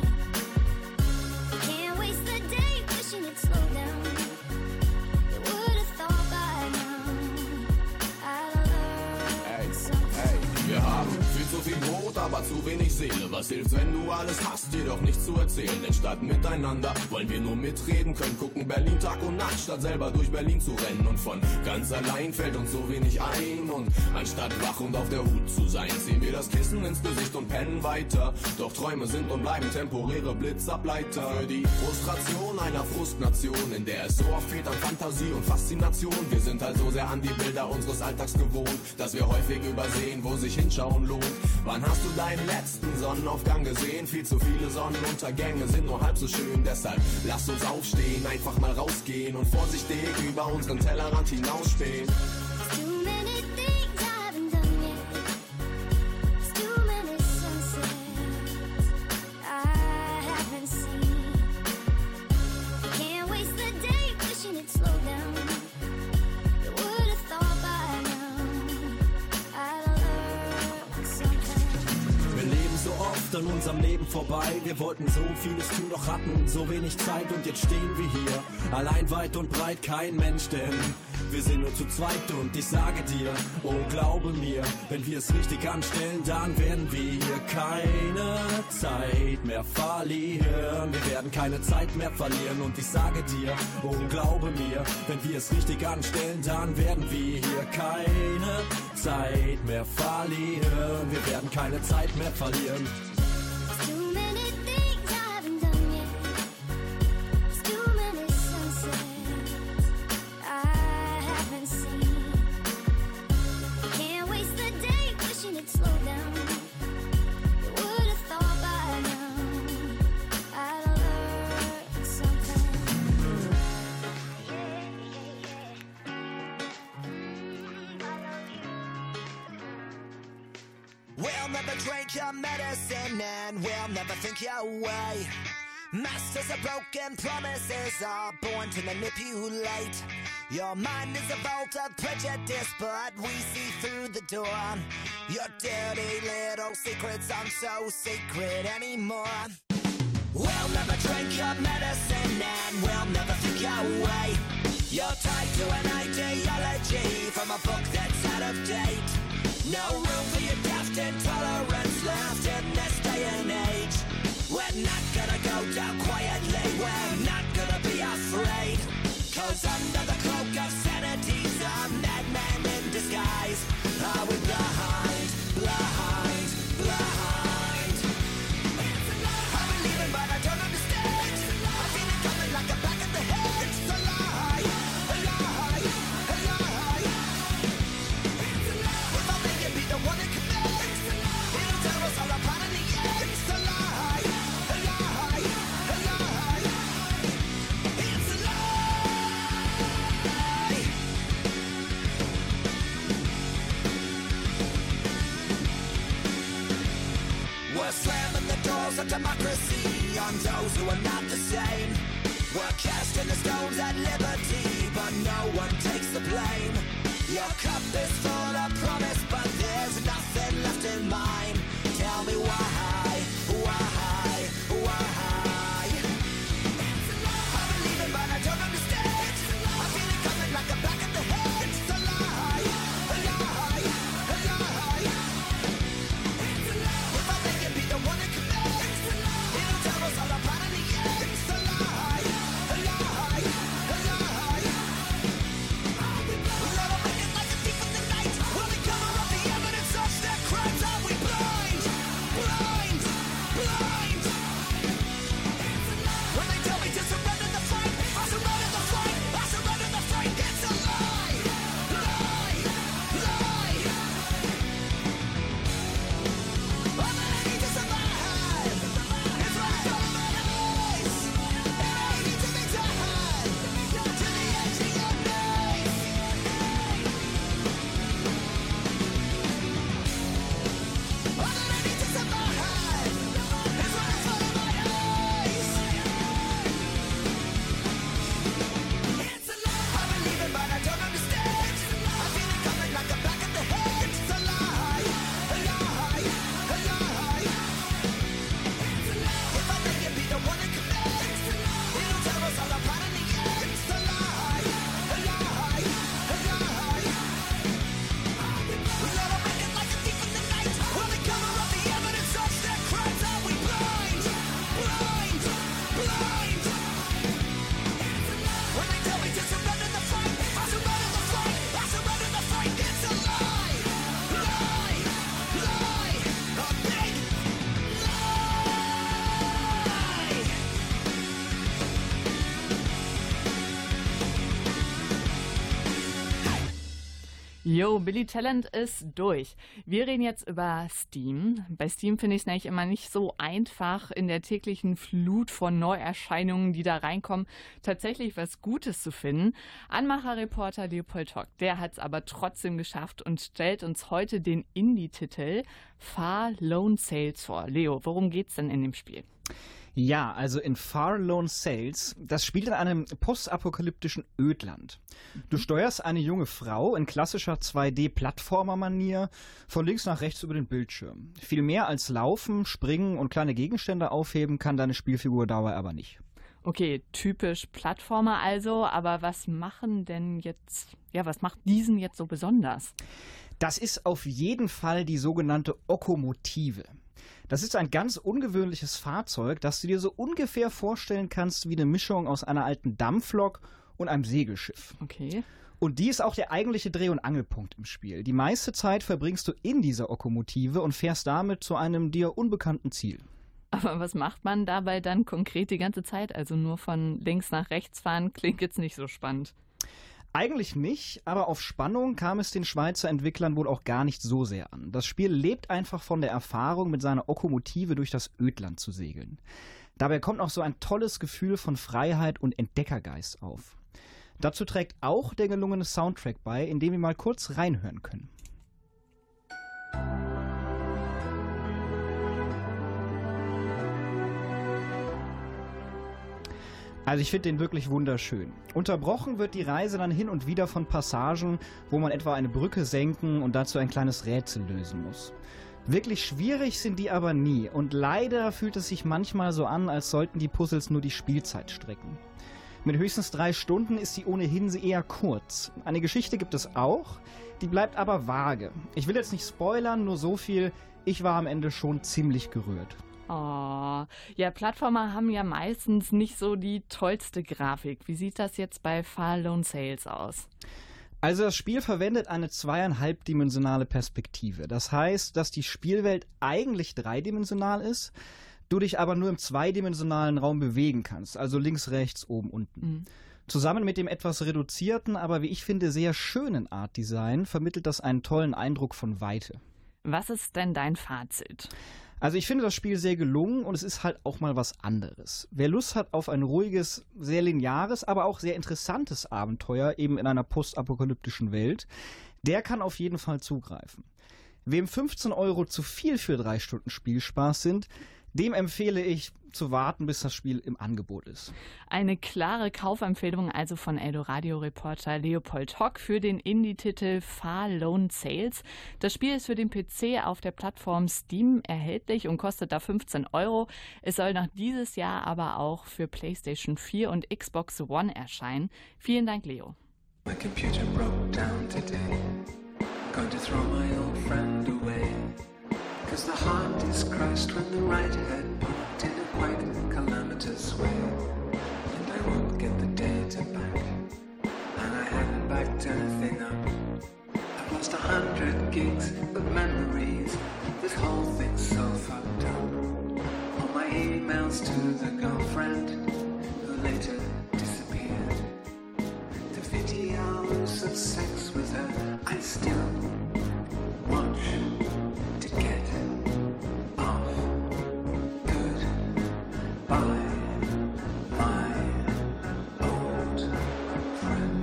Can't waste the day wishing it'd slow down. You would have thought by now I'd learned something. Wir haben viel zu viel Brot, aber zu wenig Seele. Was hilft, wenn du alles hast, dir doch nichts zu erzählen? Denn statt miteinander wollen wir nur mitreden können. Gucken Berlin Tag und Nacht, statt selber durch Berlin zu rennen. Und von ganz allein fällt uns so wenig ein. Und anstatt wach und auf der Hut zu sein, ziehen wir das Kissen ins Gesicht und pennen weiter. Doch Träume sind und bleiben temporäre Blitzableiter. Für die Frustration einer Frustnation, in der es so oft fehlt an Fantasie und Faszination. Wir sind halt so sehr an die Bilder unseres Alltags gewohnt, dass wir häufig übersehen, wo sich hinschauen lohnt. Wann hast du deinen letzten Sonnenaufgang gesehen? Viel zu viele Sonnenuntergänge sind nur halb so schön. Deshalb lass uns aufstehen, einfach mal rausgehen und vorsichtig über unseren Tellerrand hinausspähen. Too many things I haven't done yet. There's too many sunsets I haven't seen. Can't waste the day wishing it'd slow down. You would have thought by now I'd learned something. Wir leben so oft an unserem Leben vorbei. Wir wollten so vieles tun, doch hatten so wenig Zeit. Und jetzt stehen wir hier, allein weit und breit, kein Mensch, denn wir sind nur zu zweit. Und ich sage dir, oh glaube mir, wenn wir es richtig anstellen, dann werden wir hier keine Zeit mehr verlieren. Wir werden keine Zeit mehr verlieren. Und ich sage dir, oh glaube mir, wenn wir es richtig anstellen, dann werden wir hier keine Zeit mehr verlieren. Wir werden keine Zeit mehr verlieren. Too many things I haven't done yet. There's too many sunsets I haven't seen. Can't waste the day wishing it'd slow down. You would have thought by now I'd learned something. We'll never drink your medicine and we'll never think your way. Masters of broken promises are born to manipulate. Your mind is a vault of prejudice, but we see through the door. Your dirty little secrets aren't so secret anymore. We'll never drink your medicine and we'll never think your way. You're tied to an ideology from a book that's out of date. No room for your daft intolerance left in this day and age. We're not gonna go down quietly, we're not gonna be afraid. Cause under the cloak of sanity's a madman in disguise. Are we blind, blind, blind? I believe it but I don't understand. I feel it coming like a back of the head. It's a lie. walls of democracy on those who are not the same. We're casting the stones at liberty, but no one takes the blame. Your cup is full of promise, but there's nothing left in mine. Tell me why, why, why? I believe it, but I don't understand. I feel it coming like a back of the head. It's a lie, a lie, a lie. If I make it be the one that commits, it'll tell us all apart in the end. It's a lie, a lie, a lie. We'll never make it like a thief in the night. When we cover up the evidence of their crimes, are we blind, blind, blind? When they tell me to surrender the fight, I surrender the fight, I surrender the fight. It's a lie, lie, lie. I'm gonna need to survive. It's right on my eyes, and I need to be tied to the edge of your knife. I'm gonna need to survive. It's right in front of my eyes. It's a lie. I believe it, but I don't understand. I feel it coming like a back of the head. It's a lie, a lie, a lie. If I make it be the one that commits, it'll tear us all apart in the end. It's a lie, a lie, a lie. We'll never make it like a thief in the night. When we cover up the evidence of their crimes, are we blind, blind, blind? When they tell me to surrender the fight, I surrender the fight, I surrender the fight. It's a lie, lie, lie, a big lie. Yo, Billy Talent ist durch. Wir reden jetzt über Steam. Bei Steam finde ich es nämlich immer nicht so einfach, in der täglichen Flut von Neuerscheinungen, die da reinkommen, tatsächlich was Gutes zu finden. Anmacher-Reporter Leopold Hock, der hat es aber trotzdem geschafft und stellt uns heute den Indie-Titel Far Lone Sails vor. Leo, worum geht's denn in dem Spiel? Ja, also in Far Lone Sails, das spielt in einem postapokalyptischen Ödland. Du steuerst eine junge Frau in klassischer zwei D-Plattformer-Manier von links nach rechts über den Bildschirm. Viel mehr als laufen, springen und kleine Gegenstände aufheben kann deine Spielfigur dabei aber nicht. Okay, typisch Plattformer also, aber was machen denn jetzt, ja, was macht diesen jetzt so besonders? Das ist auf jeden Fall die sogenannte Okomotive. Das ist ein ganz ungewöhnliches Fahrzeug, das du dir so ungefähr vorstellen kannst wie eine Mischung aus einer alten Dampflok und einem Segelschiff. Okay. Und die ist auch der eigentliche Dreh- und Angelpunkt im Spiel. Die meiste Zeit verbringst du in dieser Okomotive und fährst damit zu einem dir unbekannten Ziel. Aber was macht man dabei dann konkret die ganze Zeit? Also nur von links nach rechts fahren klingt jetzt nicht so spannend. Eigentlich nicht, aber auf Spannung kam es den Schweizer Entwicklern wohl auch gar nicht so sehr an. Das Spiel lebt einfach von der Erfahrung, mit seiner Okomotive durch das Ödland zu segeln. Dabei kommt auch so ein tolles Gefühl von Freiheit und Entdeckergeist auf. Dazu trägt auch der gelungene Soundtrack bei, in dem wir mal kurz reinhören können. Also ich finde den wirklich wunderschön. Unterbrochen wird die Reise dann hin und wieder von Passagen, wo man etwa eine Brücke senken und dazu ein kleines Rätsel lösen muss. Wirklich schwierig sind die aber nie und leider fühlt es sich manchmal so an, als sollten die Puzzles nur die Spielzeit strecken. Mit höchstens drei Stunden ist sie ohnehin eher kurz. Eine Geschichte gibt es auch, die bleibt aber vage. Ich will jetzt nicht spoilern, nur so viel, ich war am Ende schon ziemlich gerührt. Oh, ja, Plattformer haben ja meistens nicht so die tollste Grafik. Wie sieht das jetzt bei Far Lone Sails aus? Also das Spiel verwendet eine zweieinhalbdimensionale Perspektive. Das heißt, dass die Spielwelt eigentlich dreidimensional ist, du dich aber nur im zweidimensionalen Raum bewegen kannst, also links, rechts, oben, unten. Mhm. Zusammen mit dem etwas reduzierten, aber wie ich finde sehr schönen Artdesign vermittelt das einen tollen Eindruck von Weite. Was ist denn dein Fazit? Also ich finde das Spiel sehr gelungen und es ist halt auch mal was anderes. Wer Lust hat auf ein ruhiges, sehr lineares, aber auch sehr interessantes Abenteuer, eben in einer postapokalyptischen Welt, der kann auf jeden Fall zugreifen. Wem fünfzehn Euro zu viel für drei Stunden Spielspaß sind, dem empfehle ich zu warten, bis das Spiel im Angebot ist. Eine klare Kaufempfehlung also von Eldoradio-Reporter Leopold Hock für den Indie-Titel Far Lone Sales. Das Spiel ist für den P C auf der Plattform Steam erhältlich und kostet da fünfzehn Euro. Es soll noch dieses Jahr aber auch für PlayStation vier und Xbox One erscheinen. Vielen Dank, Leo. My computer broke down today. Going to throw my old friend away. Cause the heart is crushed when the right head popped in a quite calamitous way. And I won't get the data back. And I haven't backed anything up. I've lost a hundred gigs of memories. This whole thing's so fucked up. All my emails to the girlfriend who later disappeared. The videos of sex with her I still watch to get off. Goodbye, my old friend.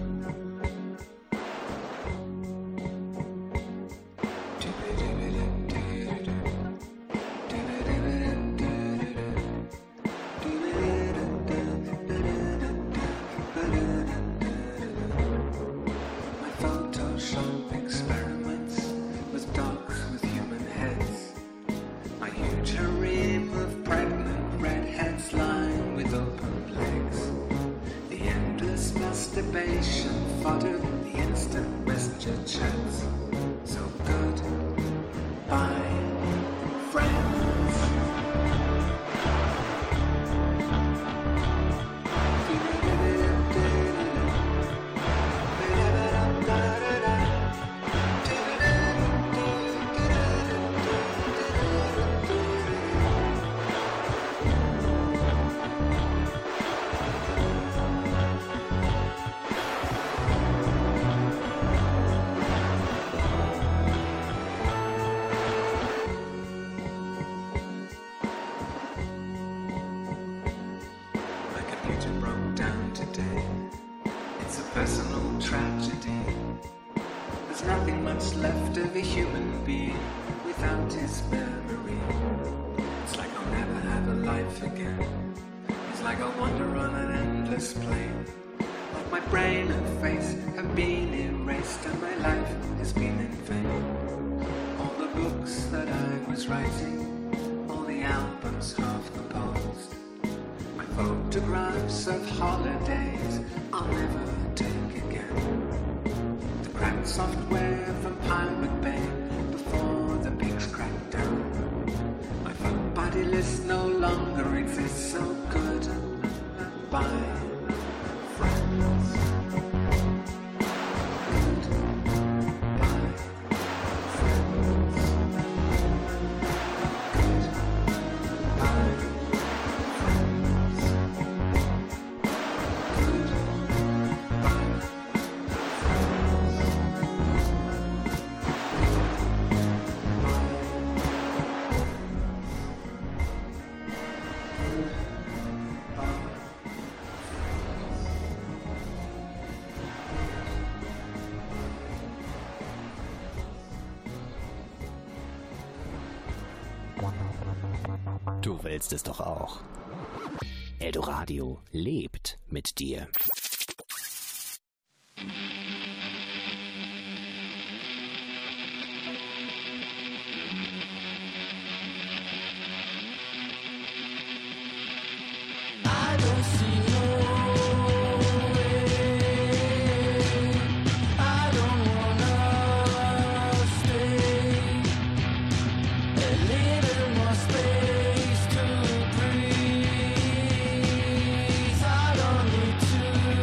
My Photoshop experiments with dogs with human heads. My huge harem of pregnant redheads lying with open legs. The endless masturbation fodder, the instant messenger chats. So good, bye, friends. My computer broke down today. It's a personal tragedy. There's nothing much left of a human being without his memory. It's like I'll never have a life again. It's like I'll wander on an endless plane. Like my brain and face have been erased and my life has been in vain. All the books that I was writing, all the albums half composed. My photographs of holidays I'll never take again. The cracked software from Pirate Bay before the pigs cracked down. My phone buddy list no longer exists, so goodbye, friends. Du willst es doch auch. Eldoradio lebt mit dir. Space to breathe. I don't need to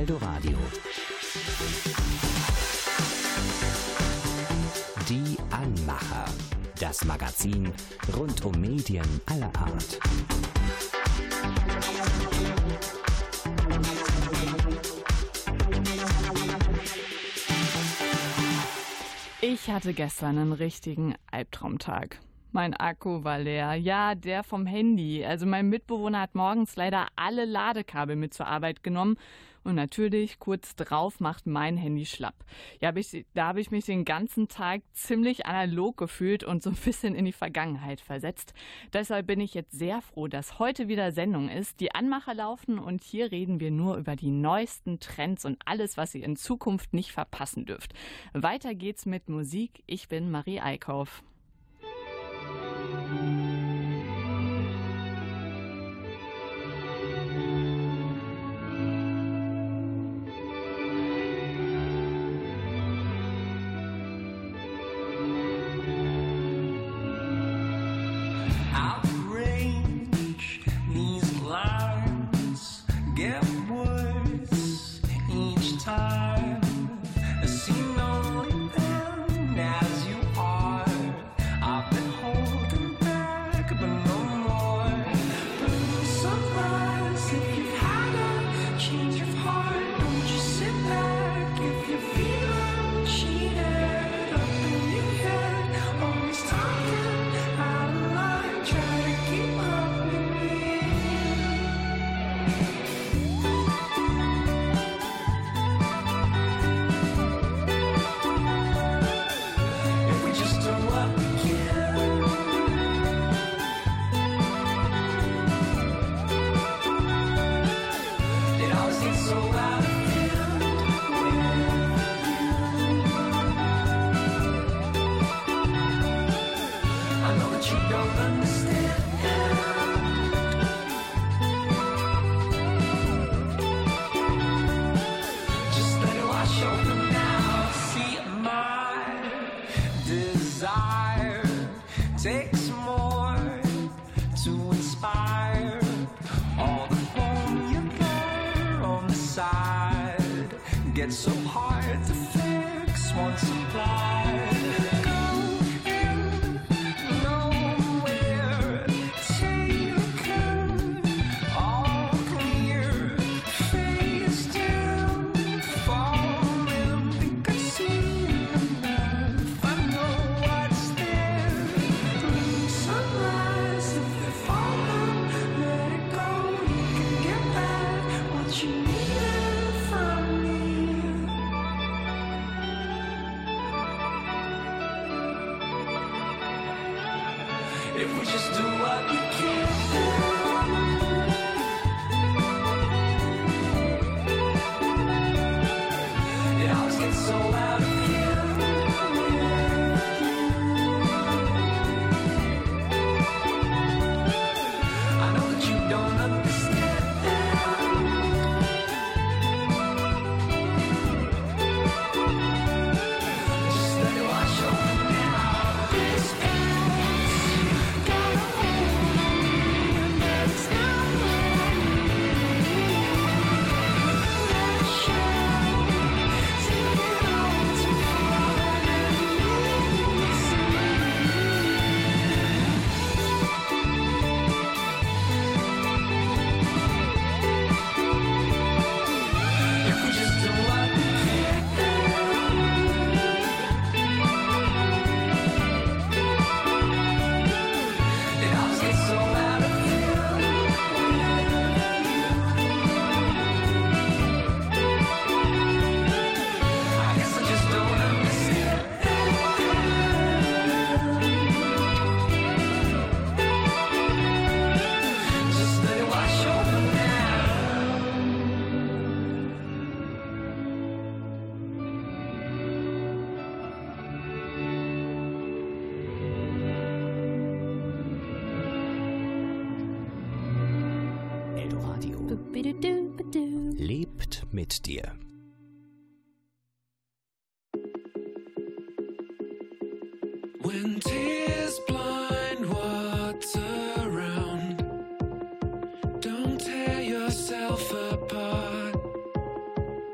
Eldoradio. Die Anmacher. Das Magazin rund um Medien aller Art. Ich hatte gestern einen richtigen Albtraumtag. Mein Akku war leer. Ja, der vom Handy. Also mein Mitbewohner hat morgens leider alle Ladekabel mit zur Arbeit genommen. Und natürlich, kurz drauf macht mein Handy schlapp. Ja, hab ich, da habe ich mich den ganzen Tag ziemlich analog gefühlt und so ein bisschen in die Vergangenheit versetzt. Deshalb bin ich jetzt sehr froh, dass heute wieder Sendung ist. Die Anmacher laufen und hier reden wir nur über die neuesten Trends und alles, was ihr in Zukunft nicht verpassen dürft. Weiter geht's mit Musik. Ich bin Marie Eickhoff. Lebt mit dir. When tears blind what's around, don't tear yourself apart.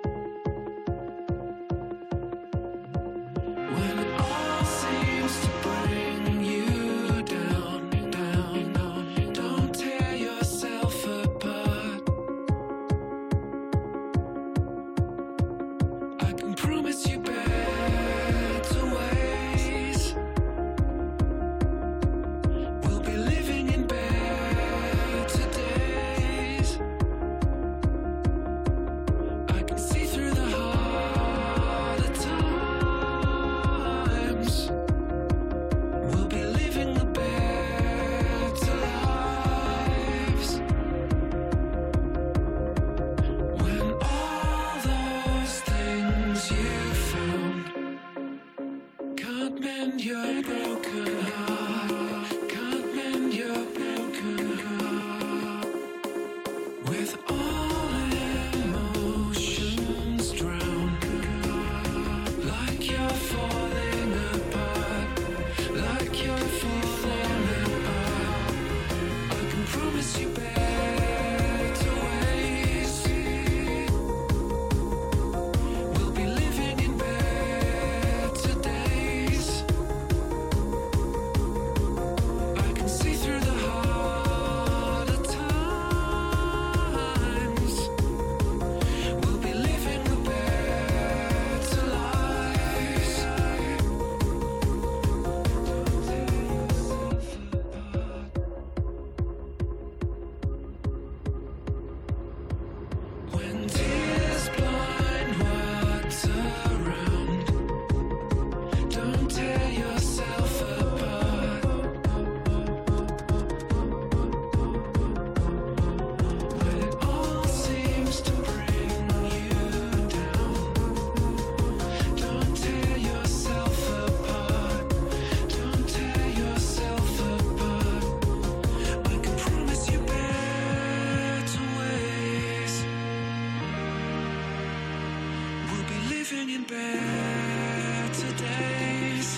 better days.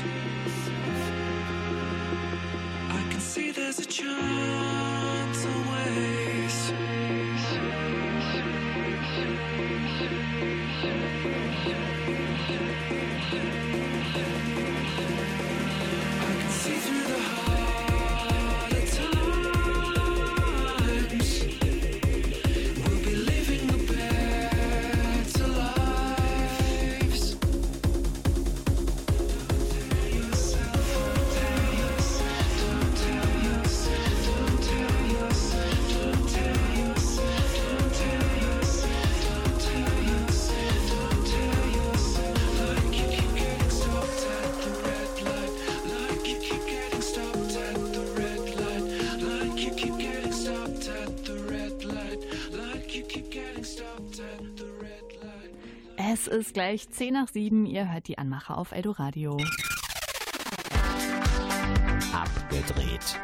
I can see there's a chance always. I can see through the harder times. We'll be living the better lives. Don't tell yourself, don't tell yourself, don't tell yourself, don't tell yourself, don't tell yourself, don't tell yourself, don't tell yourself, don't tell yourself, like you keep getting stopped at the red light, like you keep getting stopped at the red light, like you keep getting stopped at the red light, like you keep getting stopped at the red light. Es ist gleich zehn nach sieben. Ihr hört die Anmacher auf Eldoradio. Abgedreht.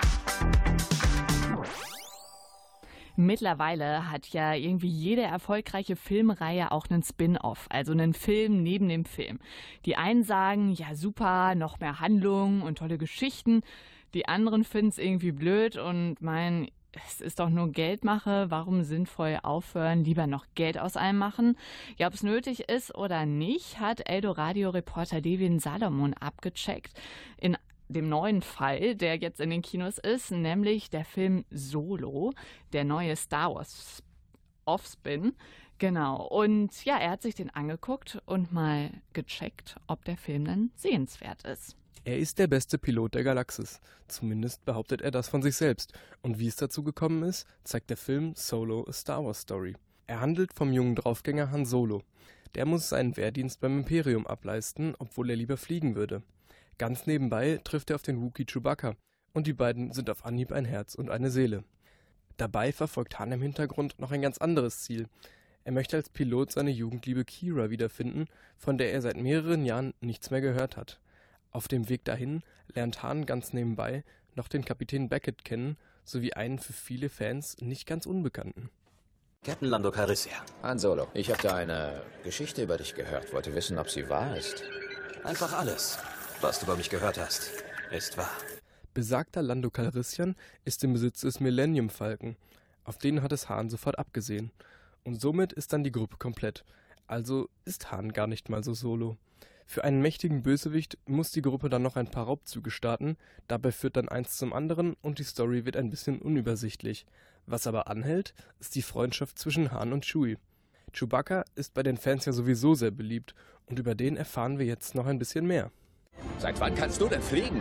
Mittlerweile hat ja irgendwie jede erfolgreiche Filmreihe auch einen Spin-off, also einen Film neben dem Film. Die einen sagen, ja super, noch mehr Handlung und tolle Geschichten. Die anderen finden es irgendwie blöd und meinen, es ist doch nur Geldmache, warum sinnvoll aufhören, lieber noch Geld aus einem machen. Ja, ob es nötig ist oder nicht, hat Eldoradio-Reporter Devin Salomon abgecheckt. In dem neuen Fall, der jetzt in den Kinos ist, nämlich der Film Solo, der neue Star Wars Offspin. Genau. Und ja, er hat sich den angeguckt und mal gecheckt, ob der Film dann sehenswert ist. Er ist der beste Pilot der Galaxis. Zumindest behauptet er das von sich selbst. Und wie es dazu gekommen ist, zeigt der Film Solo A Star Wars Story. Er handelt vom jungen Draufgänger Han Solo. Der muss seinen Wehrdienst beim Imperium ableisten, obwohl er lieber fliegen würde. Ganz nebenbei trifft er auf den Wookiee Chewbacca und die beiden sind auf Anhieb ein Herz und eine Seele. Dabei verfolgt Han im Hintergrund noch ein ganz anderes Ziel. Er möchte als Pilot seine Jugendliebe Qi'ra wiederfinden, von der er seit mehreren Jahren nichts mehr gehört hat. Auf dem Weg dahin lernt Han ganz nebenbei noch den Kapitän Beckett kennen, sowie einen für viele Fans nicht ganz Unbekannten. Captain Lando Calrissian. Han Solo, ich habe da eine Geschichte über dich gehört. Wollte wissen, ob sie wahr ist. Einfach alles, was du über mich gehört hast, ist wahr. Besagter Lando Calrissian ist im Besitz des Millennium Falcon. Auf den hat es Han sofort abgesehen. Und somit ist dann die Gruppe komplett. Also ist Han gar nicht mal so solo. Für einen mächtigen Bösewicht muss die Gruppe dann noch ein paar Raubzüge starten, dabei führt dann eins zum anderen und die Story wird ein bisschen unübersichtlich. Was aber anhält, ist die Freundschaft zwischen Han und Chewie. Chewbacca ist bei den Fans ja sowieso sehr beliebt und über den erfahren wir jetzt noch ein bisschen mehr. Seit wann kannst du denn fliegen?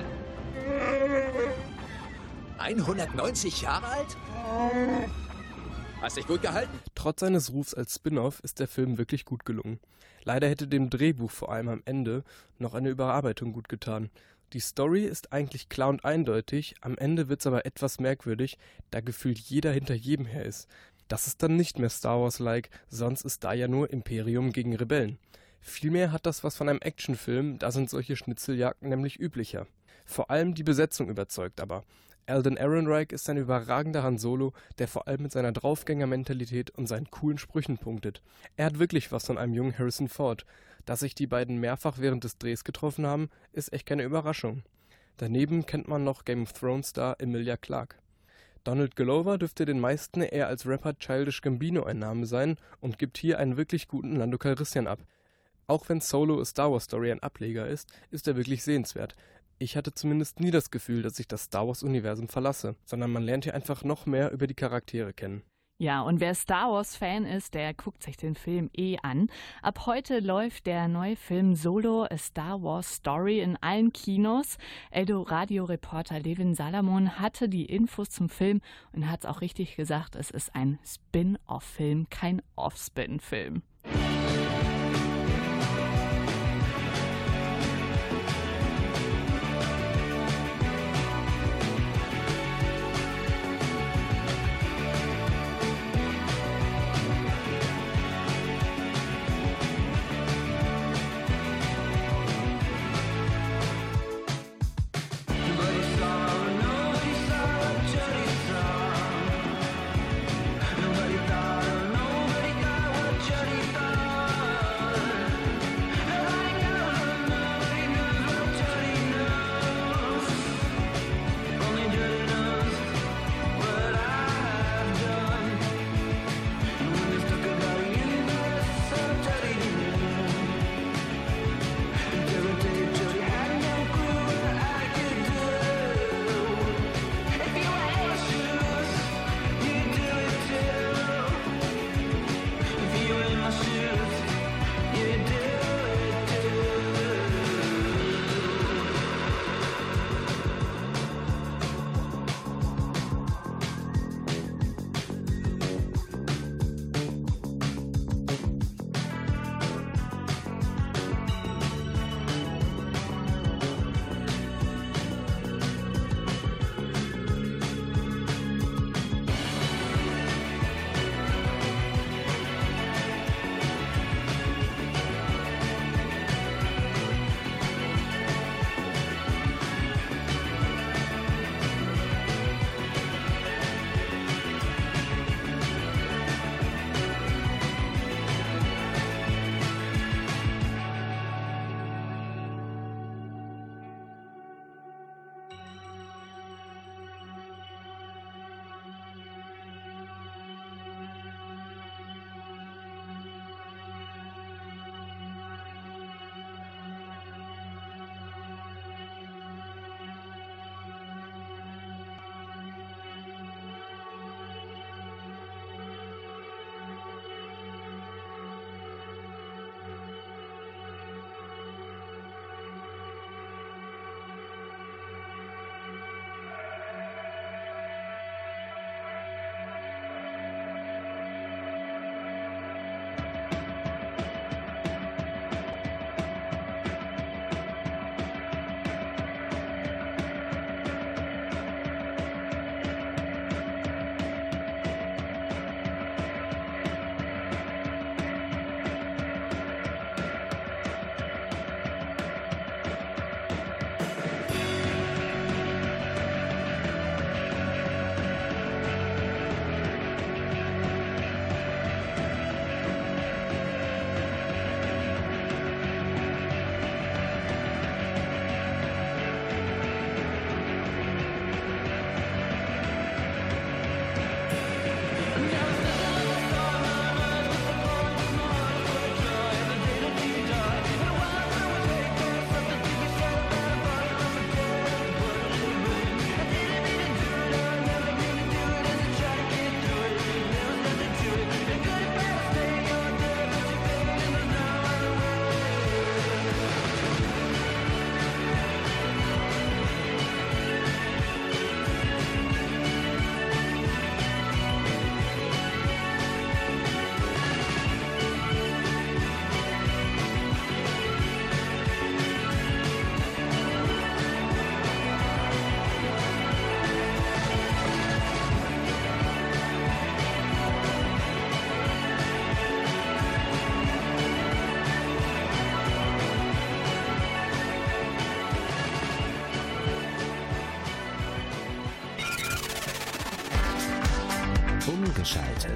hundertneunzig Jahre alt? Hast dich gut gehalten? Trotz seines Rufs als Spin-off ist der Film wirklich gut gelungen. Leider hätte dem Drehbuch vor allem am Ende noch eine Überarbeitung gut getan. Die Story ist eigentlich klar und eindeutig, am Ende wird's aber etwas merkwürdig, da gefühlt jeder hinter jedem her ist. Das ist dann nicht mehr Star Wars-like, sonst ist da ja nur Imperium gegen Rebellen. Vielmehr hat das was von einem Actionfilm, da sind solche Schnitzeljagden nämlich üblicher. Vor allem die Besetzung überzeugt aber. Alden Ehrenreich ist ein überragender Han Solo, der vor allem mit seiner Draufgänger-Mentalität und seinen coolen Sprüchen punktet. Er hat wirklich was von einem jungen Harrison Ford. Dass sich die beiden mehrfach während des Drehs getroffen haben, ist echt keine Überraschung. Daneben kennt man noch Game of Thrones Star Emilia Clarke. Donald Glover dürfte den meisten eher als Rapper Childish Gambino ein Name sein und gibt hier einen wirklich guten Lando Calrissian ab. Auch wenn Solo A Star Wars Story ein Ableger ist, ist er wirklich sehenswert. Ich hatte zumindest nie das Gefühl, dass ich das Star Wars-Universum verlasse, sondern man lernt hier einfach noch mehr über die Charaktere kennen. Ja, und wer Star Wars-Fan ist, der guckt sich den Film eh an. Ab heute läuft der neue Film Solo A Star Wars Story in allen Kinos. Eldoradio-Reporter Devin Salomon hatte die Infos zum Film und hat es auch richtig gesagt, es ist ein Spin-off-Film, kein Off-Spin-Film. Nobody thought, nobody got what Johnny eingeschaltet.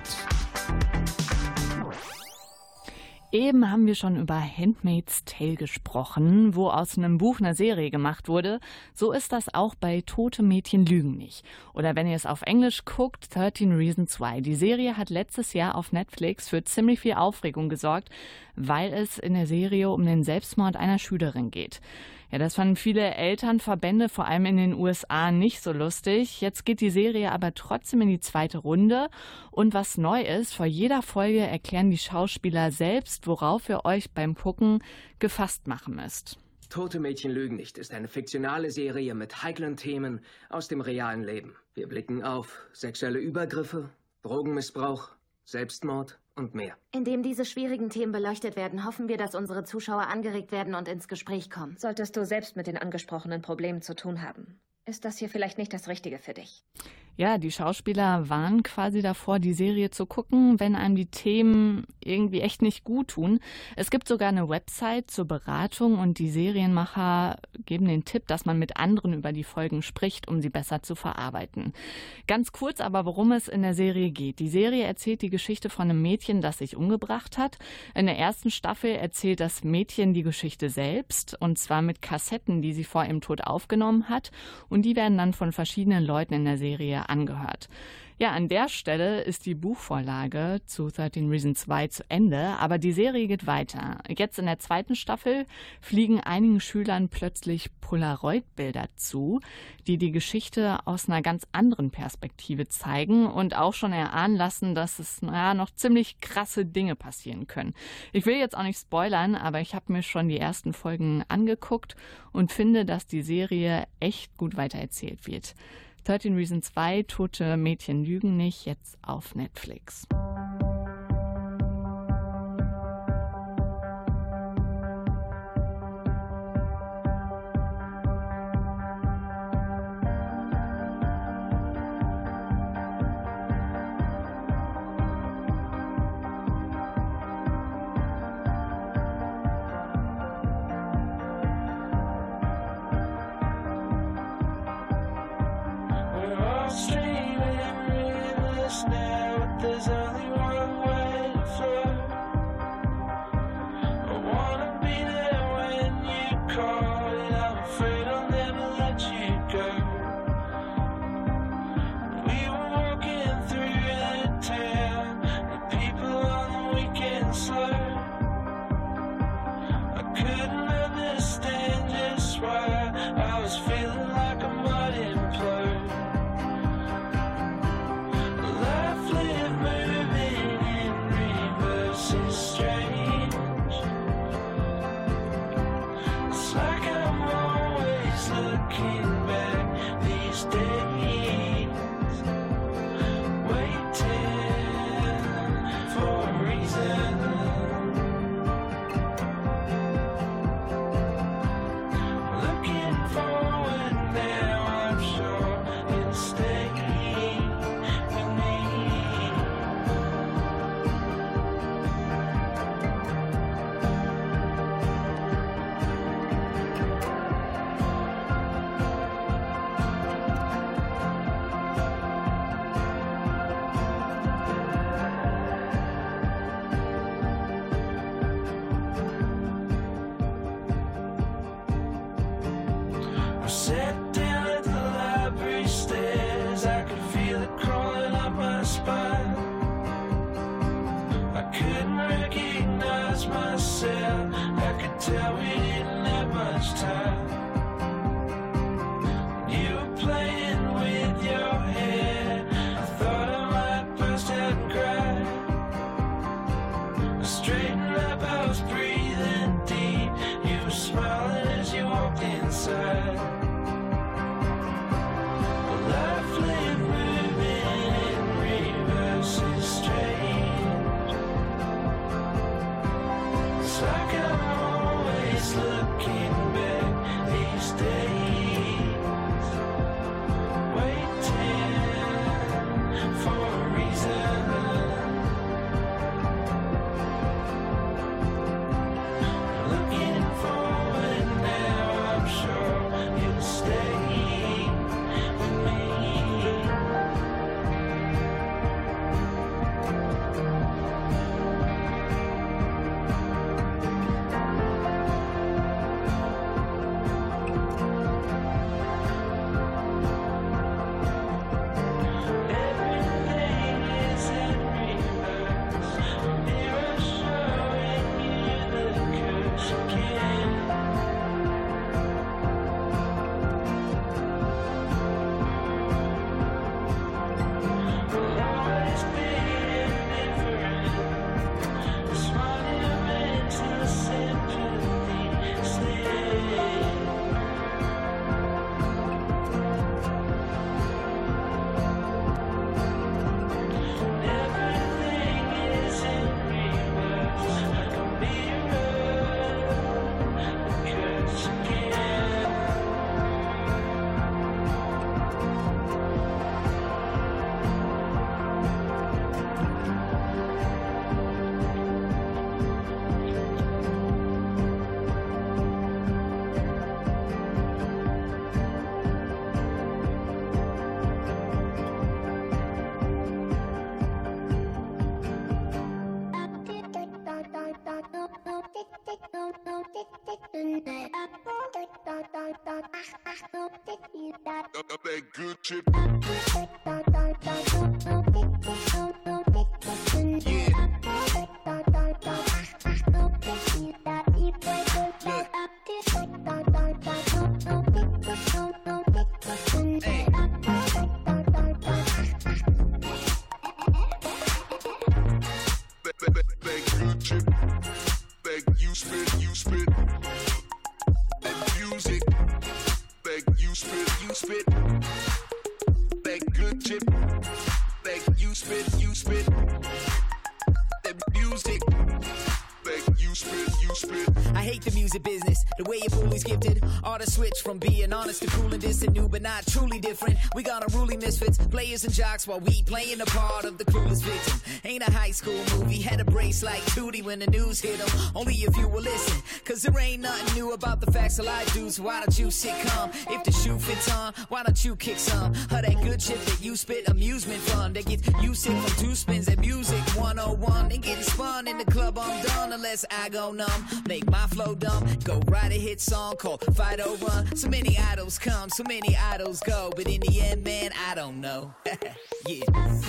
Eben haben wir schon über Handmaid's Tale gesprochen, wo aus einem Buch eine Serie gemacht wurde. So ist das auch bei Tote Mädchen lügen nicht. Oder wenn ihr es auf Englisch guckt, thirteen Reasons Why. Die Serie hat letztes Jahr auf Netflix für ziemlich viel Aufregung gesorgt, weil es in der Serie um den Selbstmord einer Schülerin geht. Ja, das fanden viele Elternverbände, vor allem in den U S A, nicht so lustig. Jetzt geht die Serie aber trotzdem in die zweite Runde. Und was neu ist, vor jeder Folge erklären die Schauspieler selbst, worauf ihr euch beim Gucken gefasst machen müsst. Tote Mädchen lügen nicht ist eine fiktionale Serie mit heiklen Themen aus dem realen Leben. Wir blicken auf sexuelle Übergriffe, Drogenmissbrauch, Selbstmord und mehr. Indem diese schwierigen Themen beleuchtet werden, hoffen wir, dass unsere Zuschauer angeregt werden und ins Gespräch kommen. Solltest du selbst mit den angesprochenen Problemen zu tun haben, ist das hier vielleicht nicht das Richtige für dich. Ja, die Schauspieler warnen quasi davor, die Serie zu gucken, wenn einem die Themen irgendwie echt nicht gut tun. Es gibt sogar eine Website zur Beratung und die Serienmacher geben den Tipp, dass man mit anderen über die Folgen spricht, um sie besser zu verarbeiten. Ganz kurz aber, worum es in der Serie geht. Die Serie erzählt die Geschichte von einem Mädchen, das sich umgebracht hat. In der ersten Staffel erzählt das Mädchen die Geschichte selbst, und zwar mit Kassetten, die sie vor ihrem Tod aufgenommen hat, und die werden dann von verschiedenen Leuten in der Serie angehört. Ja, an der Stelle ist die Buchvorlage zu thirteen Reasons Why zu Ende, aber die Serie geht weiter. Jetzt in der zweiten Staffel fliegen einigen Schülern plötzlich Polaroid-Bilder zu, die die Geschichte aus einer ganz anderen Perspektive zeigen und auch schon erahnen lassen, dass es naja, noch ziemlich krasse Dinge passieren können. Ich will jetzt auch nicht spoilern, aber ich habe mir schon die ersten Folgen angeguckt und finde, dass die Serie echt gut weitererzählt wird. thirteen Reasons Why, Tote Mädchen lügen nicht, jetzt auf Netflix. It's like I'm always looking back. that good chip. Yeah. Switch from being honest to cool and distant, new but not truly different. We got unruly misfits, players and jocks while we playing the part of the clueless victim. Ain't a high school movie, had a brace like Tootie when the news hit them. Only if you will listen, cause there ain't nothing new about the facts of life, dudes. So why don't you sit calm? If the shoe fits on, why don't you kick some of that good shit that you spit? Amusement fun that gets you sick from two spins at music one oh one. And getting spun in the club, I'm done unless I go numb. Make my flow dumb, go write a hit song called Fight Over. So many idols come, so many idols go, but in the end, man, I don't know. Yeah.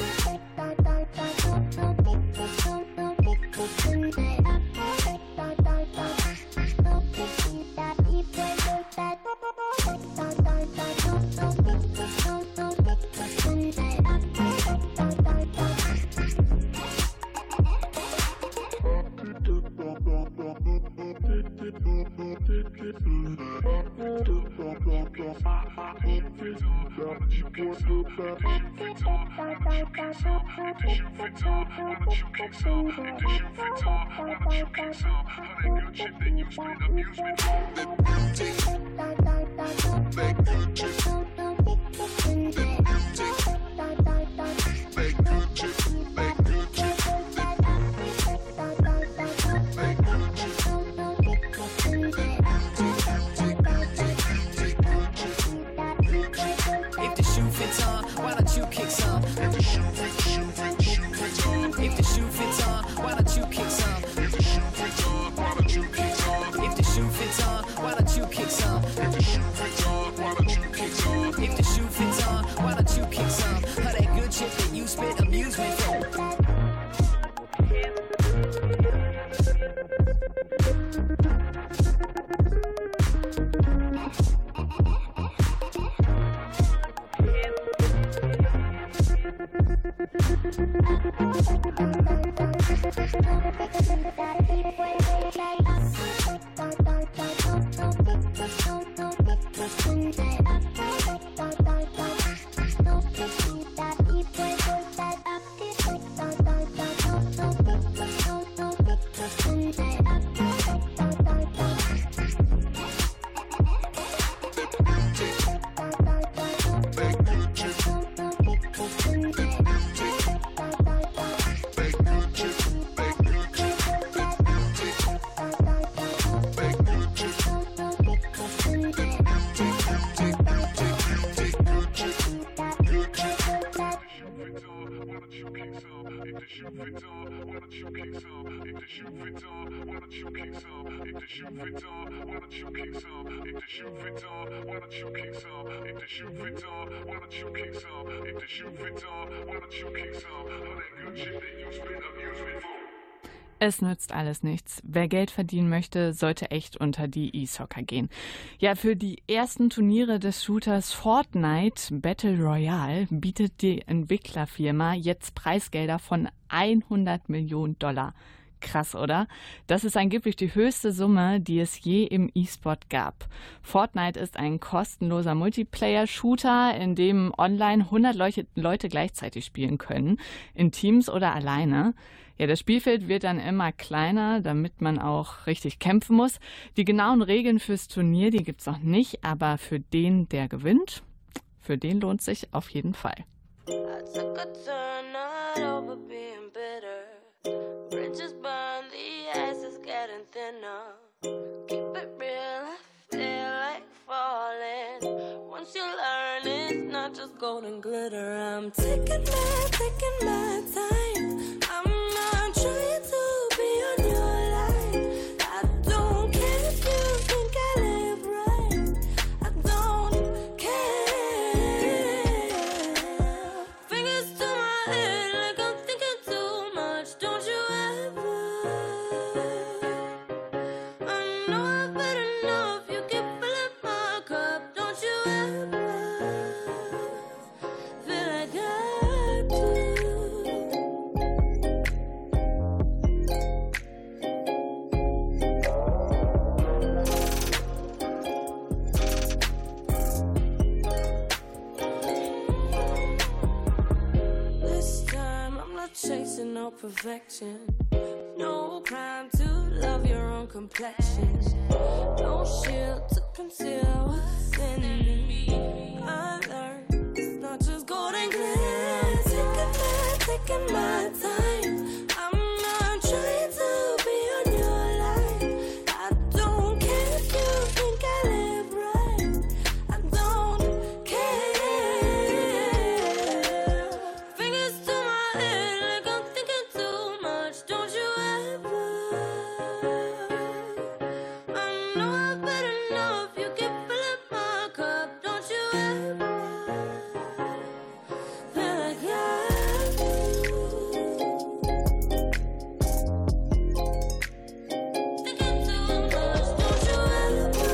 Es nützt alles nichts. Wer Geld verdienen möchte, sollte echt unter die E-Soccer gehen. Ja, für die ersten Turniere des Shooters Fortnite Battle Royale bietet die Entwicklerfirma jetzt Preisgelder von hundert Millionen Dollar. Krass, oder? Das ist angeblich die höchste Summe, die es je im E-Sport gab. Fortnite ist ein kostenloser Multiplayer-Shooter, in dem online hundert Leute gleichzeitig spielen können, in Teams oder alleine. Ja, das Spielfeld wird dann immer kleiner, damit man auch richtig kämpfen muss. Die genauen Regeln fürs Turnier, die gibt's noch nicht, aber für den, der gewinnt, für den lohnt sich auf jeden Fall. Bridges burn, the ice is getting thinner. Keep it real, I feel like falling. Once you learn, it's not just golden glitter. I'm taking my, taking my time. I'm not trying to be on your line. I don't care if you think I live right. I don't care. perfection. No crime to love your own complexion. No shield to conceal what's in me. I learned it's not just golden glitter. Taking my, taking my time. I'm not trying to be on your line. I don't care if you think I live right. I don't care. Fingers to my head like I'm thinking too much. Don't you ever? I know I've been enough. You keep filling my cup. Don't you ever feel like I do? Thinking too much. Don't you ever?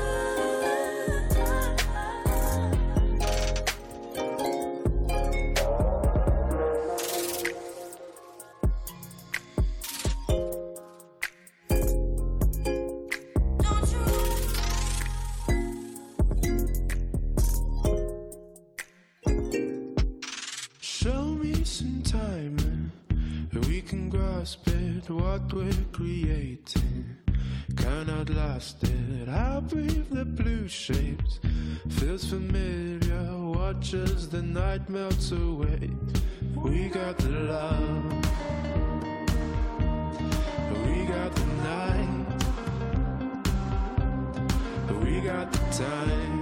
Show me some time and we can grasp it, what we're creating. Cannot last it, I'll breathe the blue shapes. Feels familiar, watch as the night melts away. We got the love, we got the night, we got the time,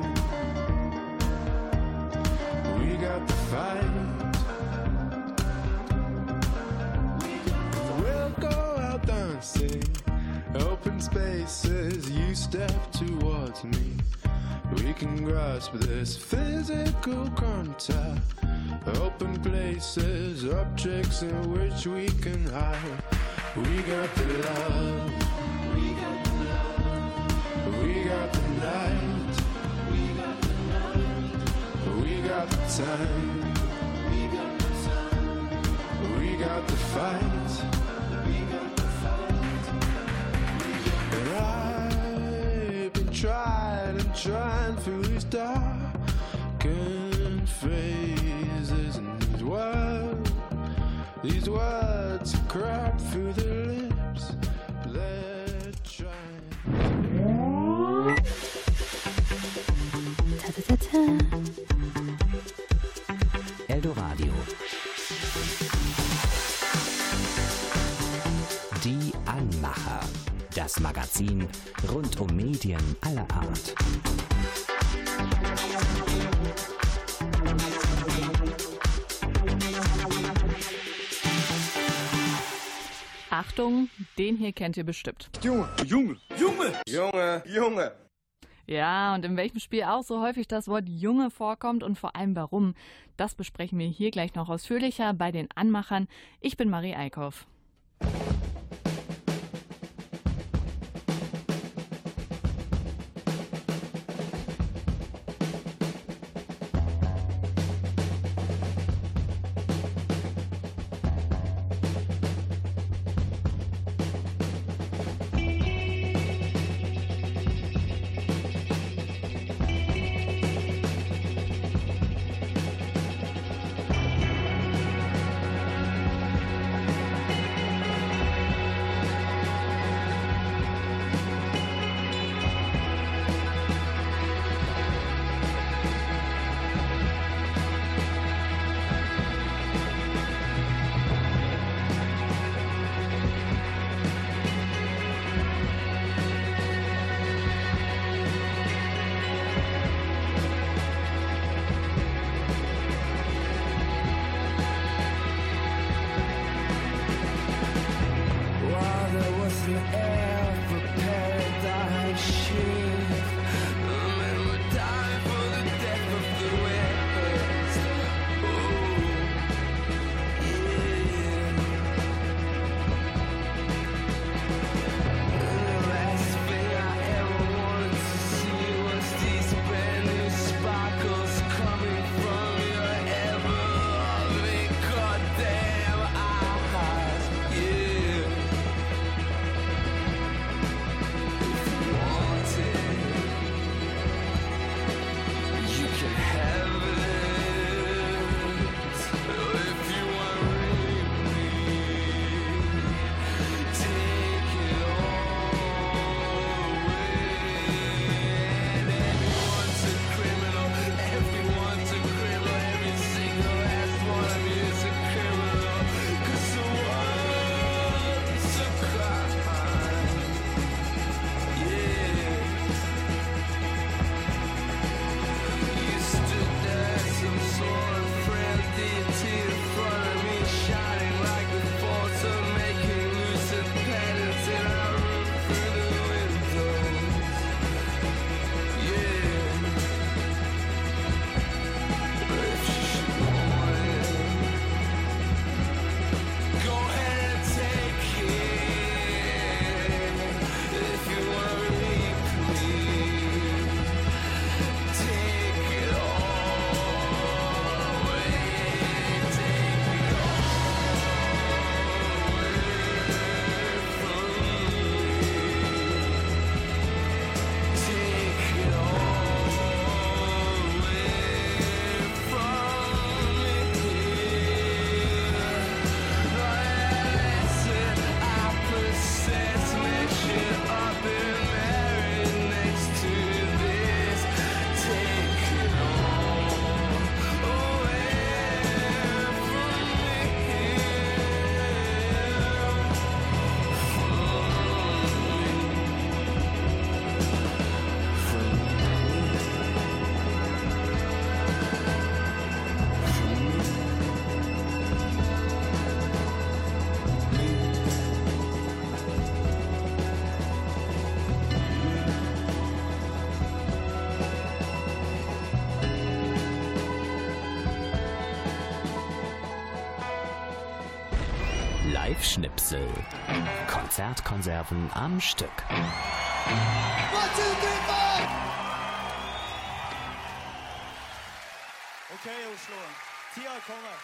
we got the fight. We'll go out dancing, open spaces, you step towards me. We can grasp this physical contact, open places, objects in which we can hide. We got the love, we got the love, we got the night, we got the night, we got the time, we got the time, we got the fight, we got the fight. And I've been trying and trying through these darkened phases, and these words, these words crap through the lips. They're trying. Ta -ta -ta -ta. Eldoradio. Die Anmacher. Das Magazin rund um Medien aller Art. Achtung, den hier kennt ihr bestimmt. Junge, Junge, Junge, Junge, Junge. Ja, und in welchem Spiel auch so häufig das Wort Junge vorkommt und vor allem warum, das besprechen wir hier gleich noch ausführlicher bei den Anmachern. Ich bin Marie Eickhoff. Live-Schnipsel. Konzertkonserven am Stück. One, two, three, four! Okay, Oslo. Tida kommer.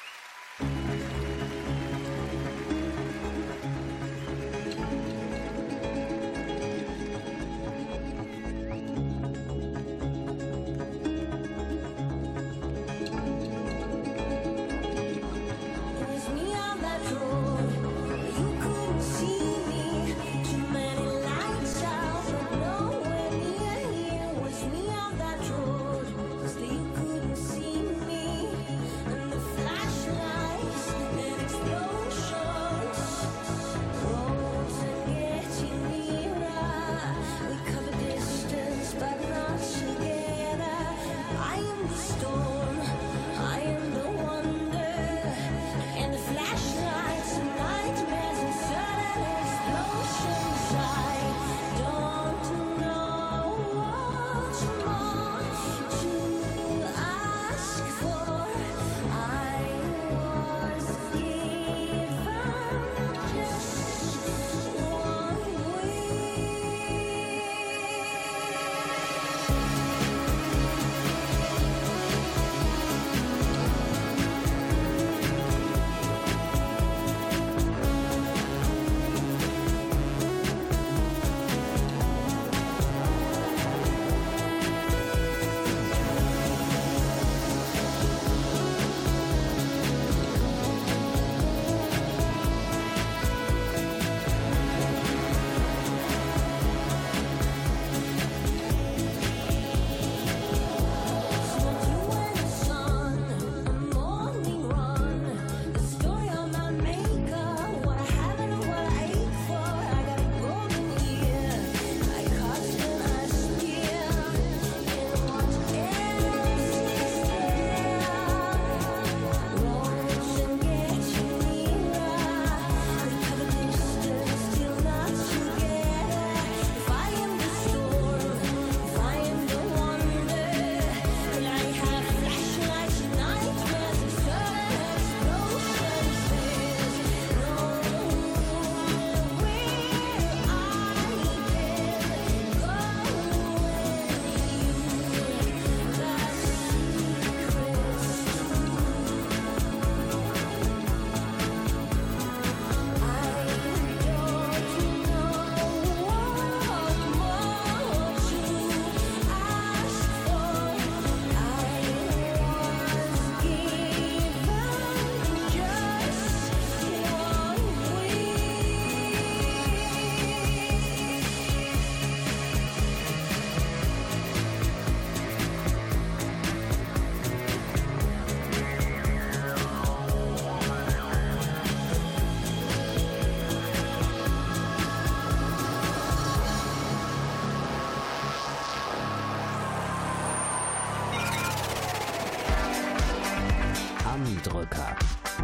Drücker.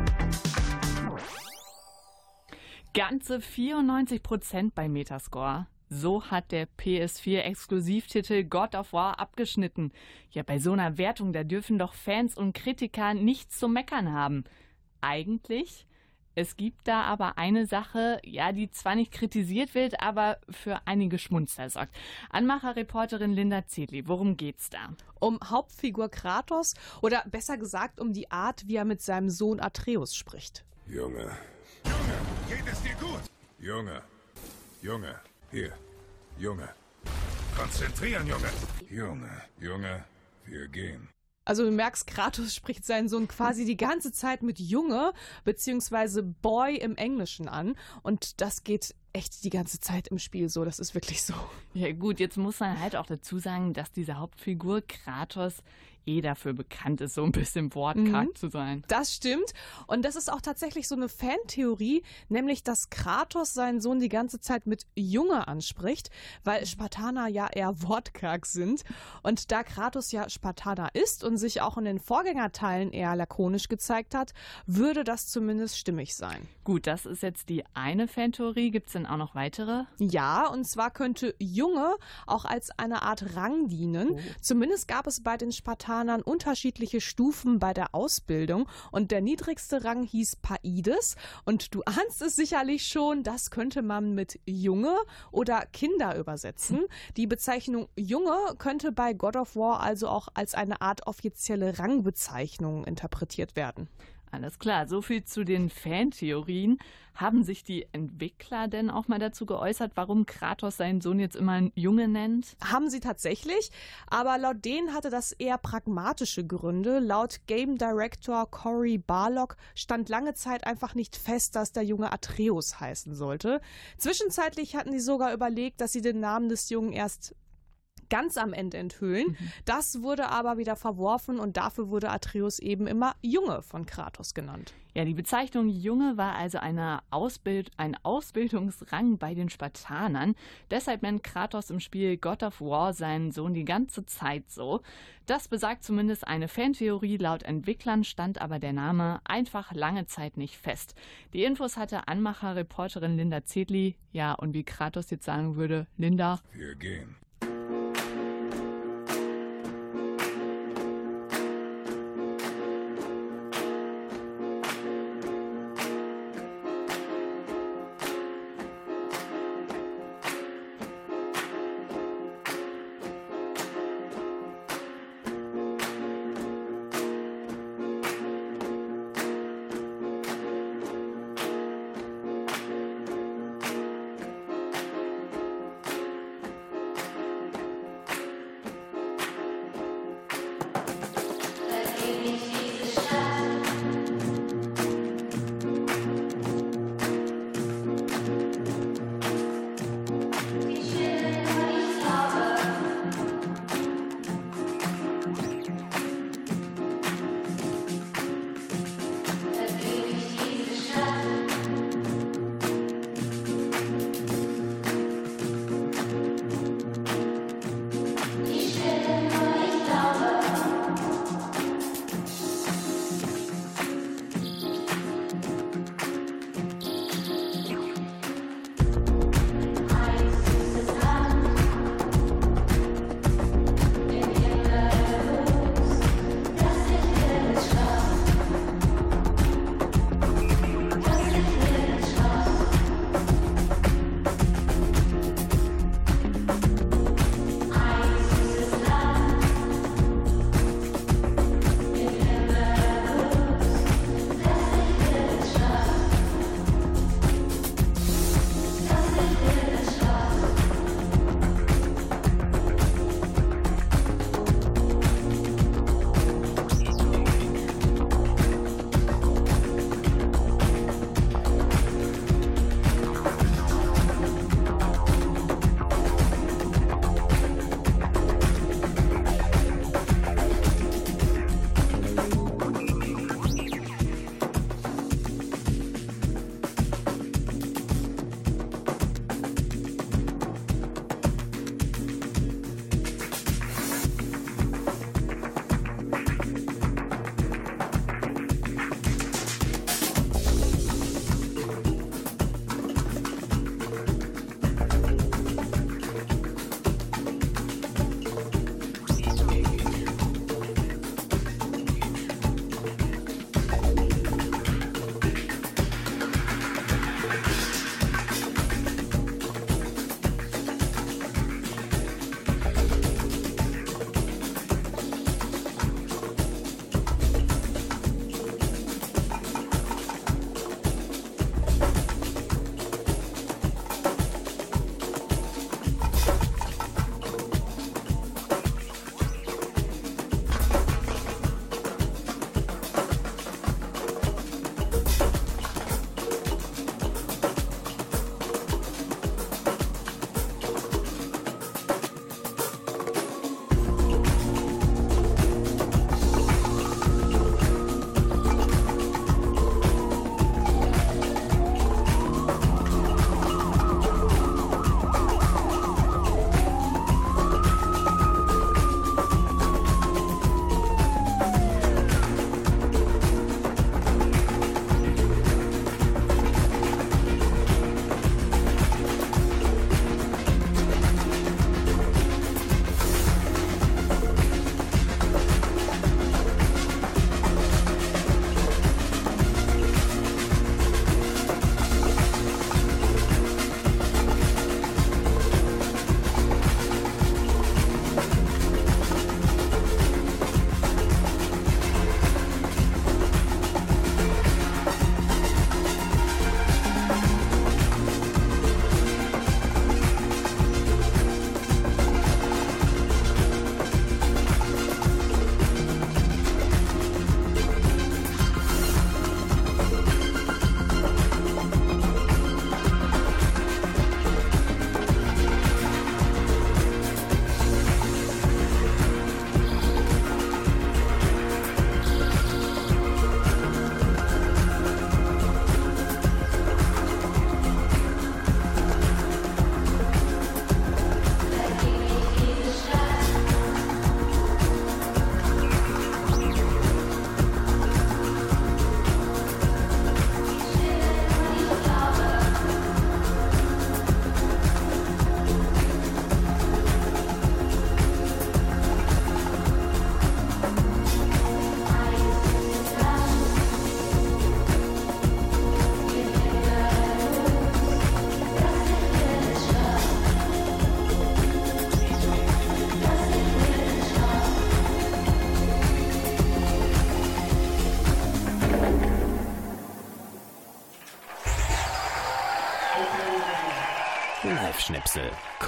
Ganze vierundneunzig Prozent bei Metascore. So hat der P S vier Exklusivtitel God of War abgeschnitten. Ja, bei so einer Wertung, da dürfen doch Fans und Kritiker nichts zu meckern haben. Eigentlich, es gibt da aber eine Sache, ja, die zwar nicht kritisiert wird, aber für einige Schmunzler sorgt. Anmacher-Reporterin Linda Zedli, worum geht's da? Um Hauptfigur Kratos oder besser gesagt um die Art, wie er mit seinem Sohn Atreus spricht. Junge. Junge, geht es dir gut? Junge. Junge. Hier. Junge. Konzentrieren, Junge. Junge. Junge. Wir gehen. Also du merkst, Kratos spricht seinen Sohn quasi die ganze Zeit mit Junge bzw. Boy im Englischen an. Und das geht echt die ganze Zeit im Spiel so. Das ist wirklich so. Ja gut, jetzt muss man halt auch dazu sagen, dass diese Hauptfigur Kratos eh dafür bekannt ist, so ein bisschen wortkarg mhm. zu sein. Das stimmt. Und das ist auch tatsächlich so eine Fantheorie, nämlich, dass Kratos seinen Sohn die ganze Zeit mit Junge anspricht, weil Spartaner ja eher wortkarg sind. Und da Kratos ja Spartaner ist und sich auch in den Vorgängerteilen eher lakonisch gezeigt hat, würde das zumindest stimmig sein. Gut, das ist jetzt die eine Fantheorie. Gibt es denn auch noch weitere? Ja, und zwar könnte Junge auch als eine Art Rang dienen. Oh. Zumindest gab es bei den Spartanern Spartanern unterschiedliche Stufen bei der Ausbildung und der niedrigste Rang hieß Paides und du ahnst es sicherlich schon, das könnte man mit Junge oder Kinder übersetzen. Die Bezeichnung Junge könnte bei God of War also auch als eine Art offizielle Rangbezeichnung interpretiert werden. Alles klar, so viel zu den Fantheorien. Haben sich die Entwickler denn auch mal dazu geäußert, warum Kratos seinen Sohn jetzt immer einen Junge nennt? Haben sie tatsächlich, aber laut denen hatte das eher pragmatische Gründe. Laut Game Director Cory Barlog stand lange Zeit einfach nicht fest, dass der Junge Atreus heißen sollte. Zwischenzeitlich hatten sie sogar überlegt, dass sie den Namen des Jungen erst ganz am Ende enthüllen. Mhm. Das wurde aber wieder verworfen und dafür wurde Atreus eben immer Junge von Kratos genannt. Ja, die Bezeichnung Junge war also eine Ausbild- ein Ausbildungsrang bei den Spartanern. Deshalb nennt Kratos im Spiel God of War seinen Sohn die ganze Zeit so. Das besagt zumindest eine Fantheorie. Laut Entwicklern stand aber der Name einfach lange Zeit nicht fest. Die Infos hatte Anmacher-Reporterin Linda Zedli. Ja, und wie Kratos jetzt sagen würde, Linda. Wir gehen.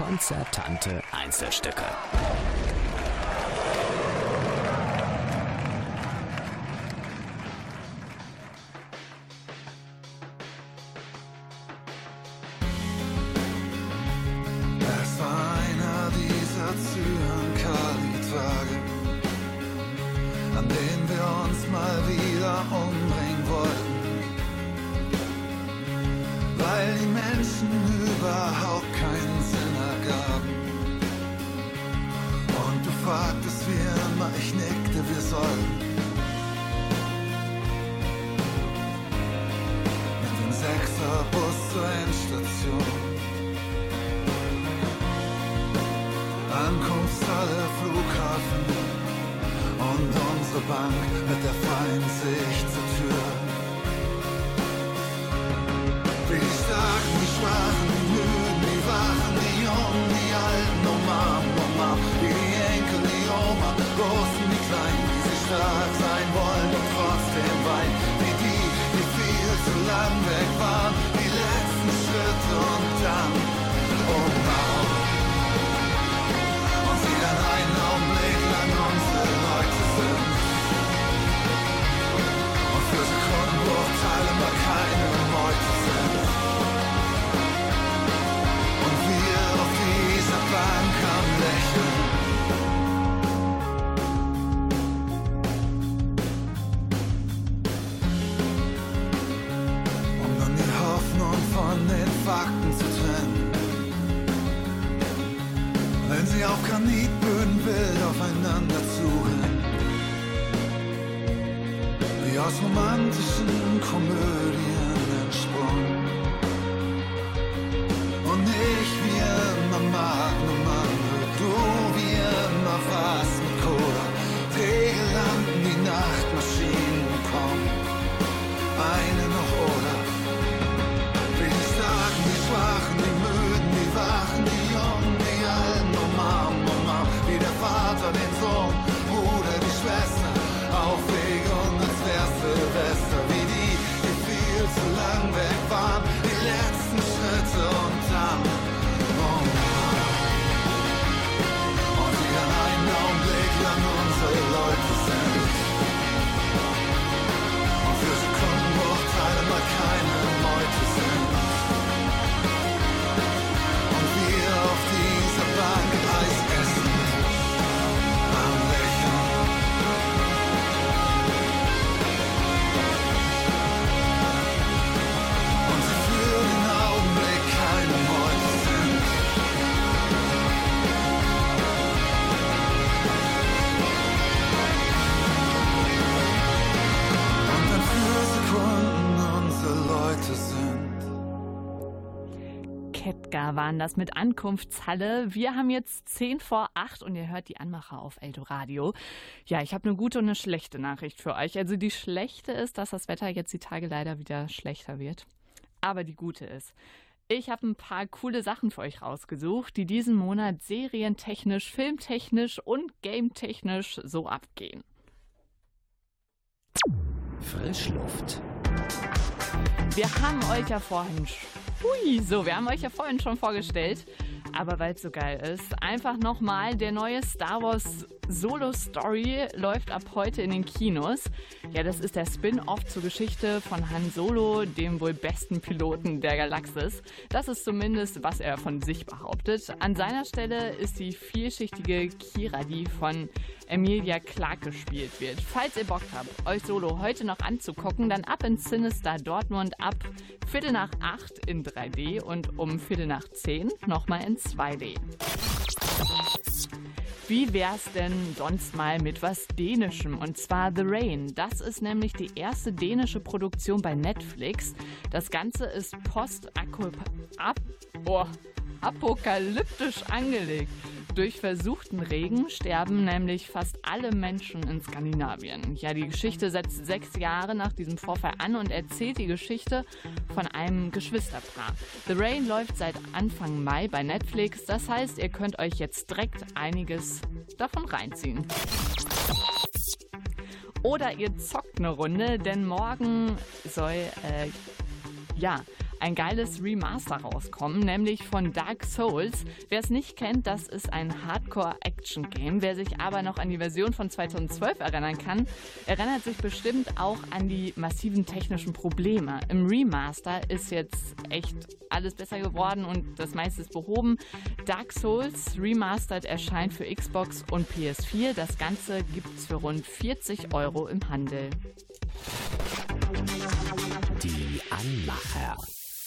Konzertante Einzelstücke. Es war einer dieser Zyankali-Tage, an denen wir uns mal wieder umbringen wollten, weil die Menschen überhaupt keinen Sinn ergaben. Und du fragtest wie immer, ich nickte, wir sollten mit dem Sechserbus zur Endstation. Ankunftshalle, Flughafen und unsere Bank mit der feinen Sicht zur Tür. Wie die Starken, die Schwachen, die Müden, die Wachen, die Jungen, die Alten, umarmen, umarmen, wie die Enkel, die Oma, Großen, die Kleinen, die sie stark sein wollen und trotzdem weinen, wie die, die viel zu lang weg waren, die letzten Schritte und dann umarmen. Und sie dann einen Augenblick lang unsere Leute sind und für Sekundenbruchteile mal keine Meute sind. Und wir auf dieser Bank am Lächeln. Um dann die Hoffnung von den Fakten zu trennen. Wenn sie auf Granitböden wild aufeinander zurennen. Wie aus romantischen Komödien entsprungen. Und ich wie immer Magnum andere, du wie immer was mit Cola. Tegel landen, die Nachtmaschinen kommen. Eine noch oder. Wie die Starken, die Schwachen, die Müden, die Wachen, die Jungen, die Alten, umarmen, umarmen. Wie der Vater den Sohn, Bruder, die Schwester. Aufweg und als wär's Silvester. Wie die, die viel zu lang weg waren. Die letzten Schritte und dann umarmen. Und die an einen Augenblick lang unsere Leute sind. Und für Sekundenbruchteile mal keine Meute sind. Und wir auf dieser Bank Eis essen, am Lächeln. Und sie für den Augenblick keine Meute sind. Und dann für Sekunden unsere Leute sind. Ketka waren das mit Ankunftshalle. Wir haben jetzt zehn vor acht und ihr hört die Anmacher auf Eldoradio. Ja, ich habe eine gute und eine schlechte Nachricht für euch. Also die schlechte ist, dass das Wetter jetzt die Tage leider wieder schlechter wird. Aber die gute ist, ich habe ein paar coole Sachen für euch rausgesucht, die diesen Monat serientechnisch, filmtechnisch und gametechnisch so abgehen. Frischluft. Wir haben euch ja vorhin, hui, so, wir haben euch ja vorhin schon vorgestellt, aber weil es so geil ist, einfach nochmal, der neue Star Wars Solo Story läuft ab heute in den Kinos. Ja, das ist der Spin-Off zur Geschichte von Han Solo, dem wohl besten Piloten der Galaxis. Das ist zumindest, was er von sich behauptet. An seiner Stelle ist die vielschichtige Kira, die von Emilia Clarke gespielt wird. Falls ihr Bock habt, euch Solo heute noch anzugucken, dann ab ins Cinestar Dortmund ab Viertel nach acht in drei D und um Viertel nach zehn nochmal in zwei D. Wie wär's denn sonst mal mit was Dänischem? Und zwar The Rain. Das ist nämlich die erste dänische Produktion bei Netflix. Das Ganze ist post-apokalyptisch angelegt. Durch versuchten Regen sterben nämlich fast alle Menschen in Skandinavien. Ja, die Geschichte setzt sechs Jahre nach diesem Vorfall an und erzählt die Geschichte von einem Geschwisterpaar. The Rain läuft seit Anfang Mai bei Netflix. Das heißt, ihr könnt euch jetzt direkt einiges davon reinziehen. Oder ihr zockt eine Runde, denn morgen soll, äh, ja, ein geiles Remaster rauskommen, nämlich von Dark Souls. Wer es nicht kennt, das ist ein Hardcore-Action-Game. Wer sich aber noch an die Version von zweitausendzwölf erinnern kann, erinnert sich bestimmt auch an die massiven technischen Probleme. Im Remaster ist jetzt echt alles besser geworden und das meiste ist behoben. Dark Souls Remastered erscheint für Xbox und P S vier. Das Ganze gibt's für rund vierzig Euro im Handel. Die Anmacher.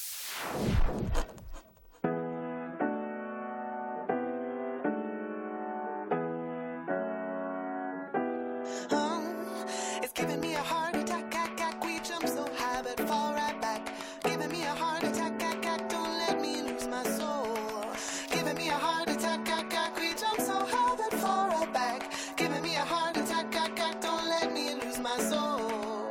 It's giving me a heart attack, ack, ack, we jump so high but fall right back. Giving me a heart attack, ack, ack, don't let me lose my soul. Giving me a heart attack, ack, ack, we jump so high but fall right back. Giving me a heart attack, ack, ack, don't let me lose my soul.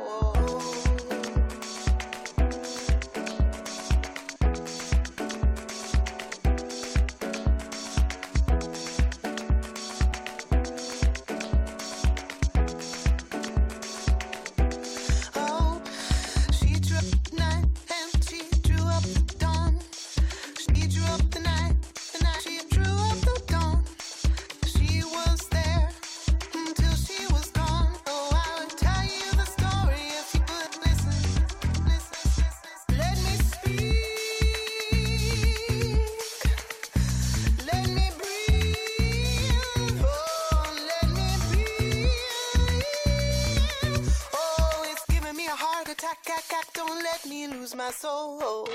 Don't let me lose my soul.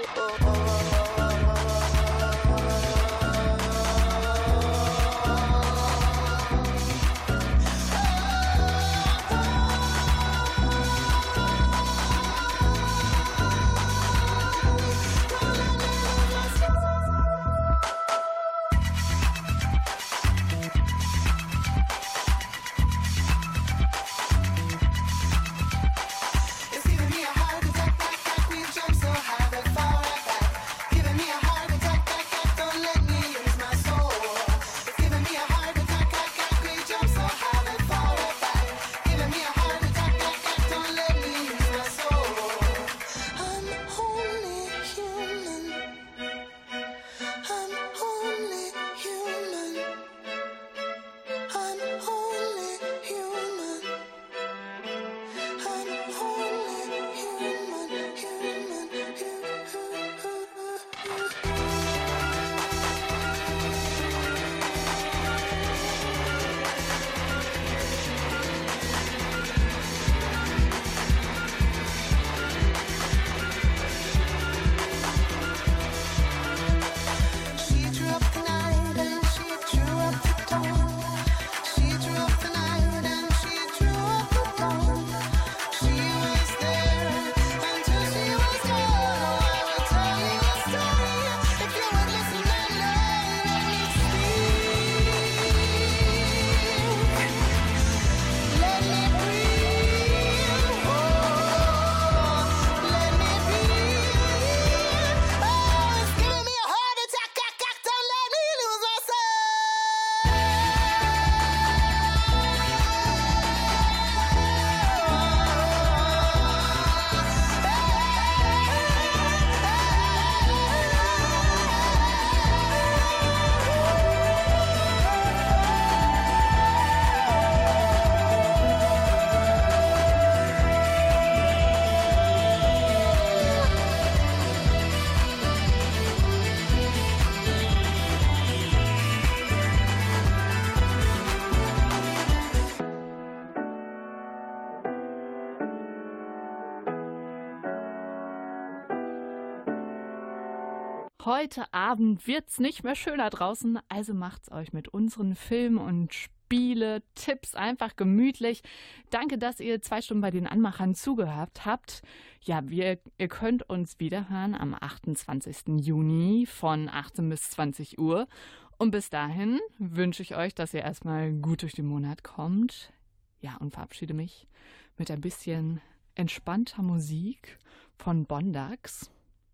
Heute Abend wird's nicht mehr schöner draußen, also macht's euch mit unseren Film- und Spiele-Tipps einfach gemütlich. Danke, dass ihr zwei Stunden bei den Anmachern zugehört habt. Ja, wir, ihr könnt uns wiederhören am achtundzwanzigsten Juni von achtzehn bis zwanzig Uhr. Und bis dahin wünsche ich euch, dass ihr erstmal gut durch den Monat kommt. Ja, und verabschiede mich mit ein bisschen entspannter Musik von Bondax.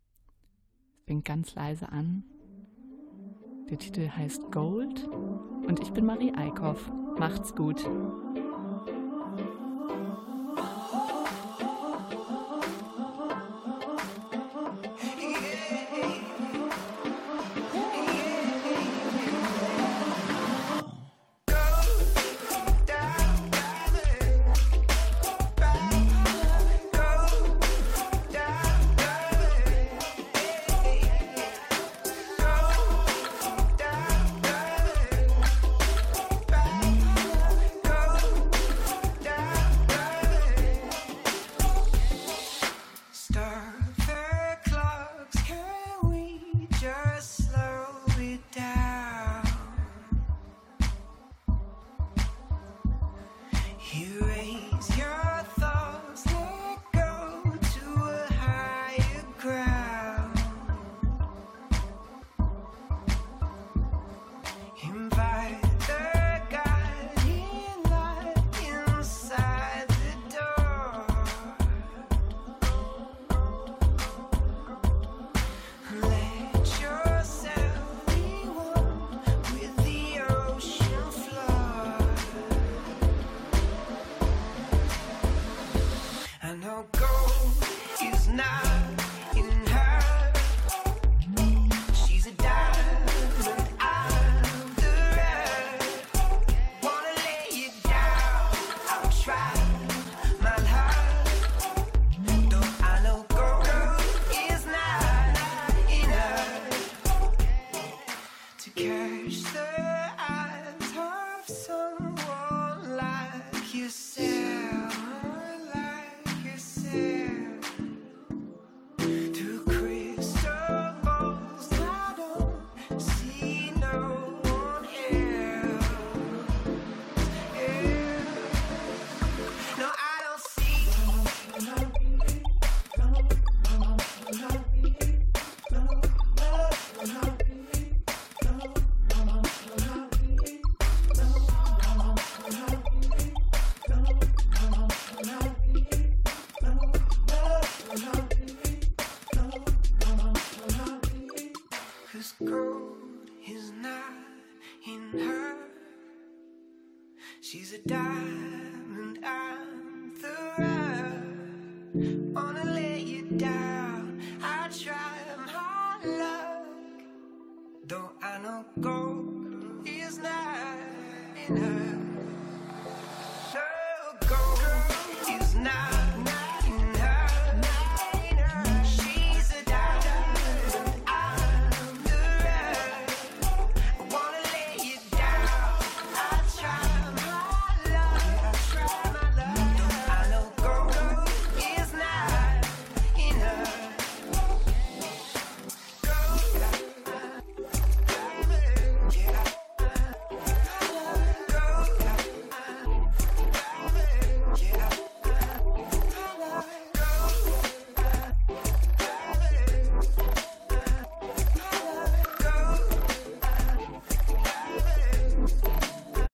Fängt ganz leise an. Der Titel heißt Gold und ich bin Marie Eickhoff. Macht's gut. Yeah. Erase your thoughts, let go to a higher ground. Invite the guiding light inside the door. Let yourself be one with the ocean floor. I know gold is not in her. She's a diamond out the rough. Wanna lay it down, I'll try my heart. Though I know gold is not in her. To catch the eyes of someone like yourself, like yourself. Through crystal balls, I don't see no one else. Yeah. No, I don't see. Cause gold is not in her. She's a diamond, I'm the rough. Wanna lay you down, I try my luck. Though I know gold is not in her.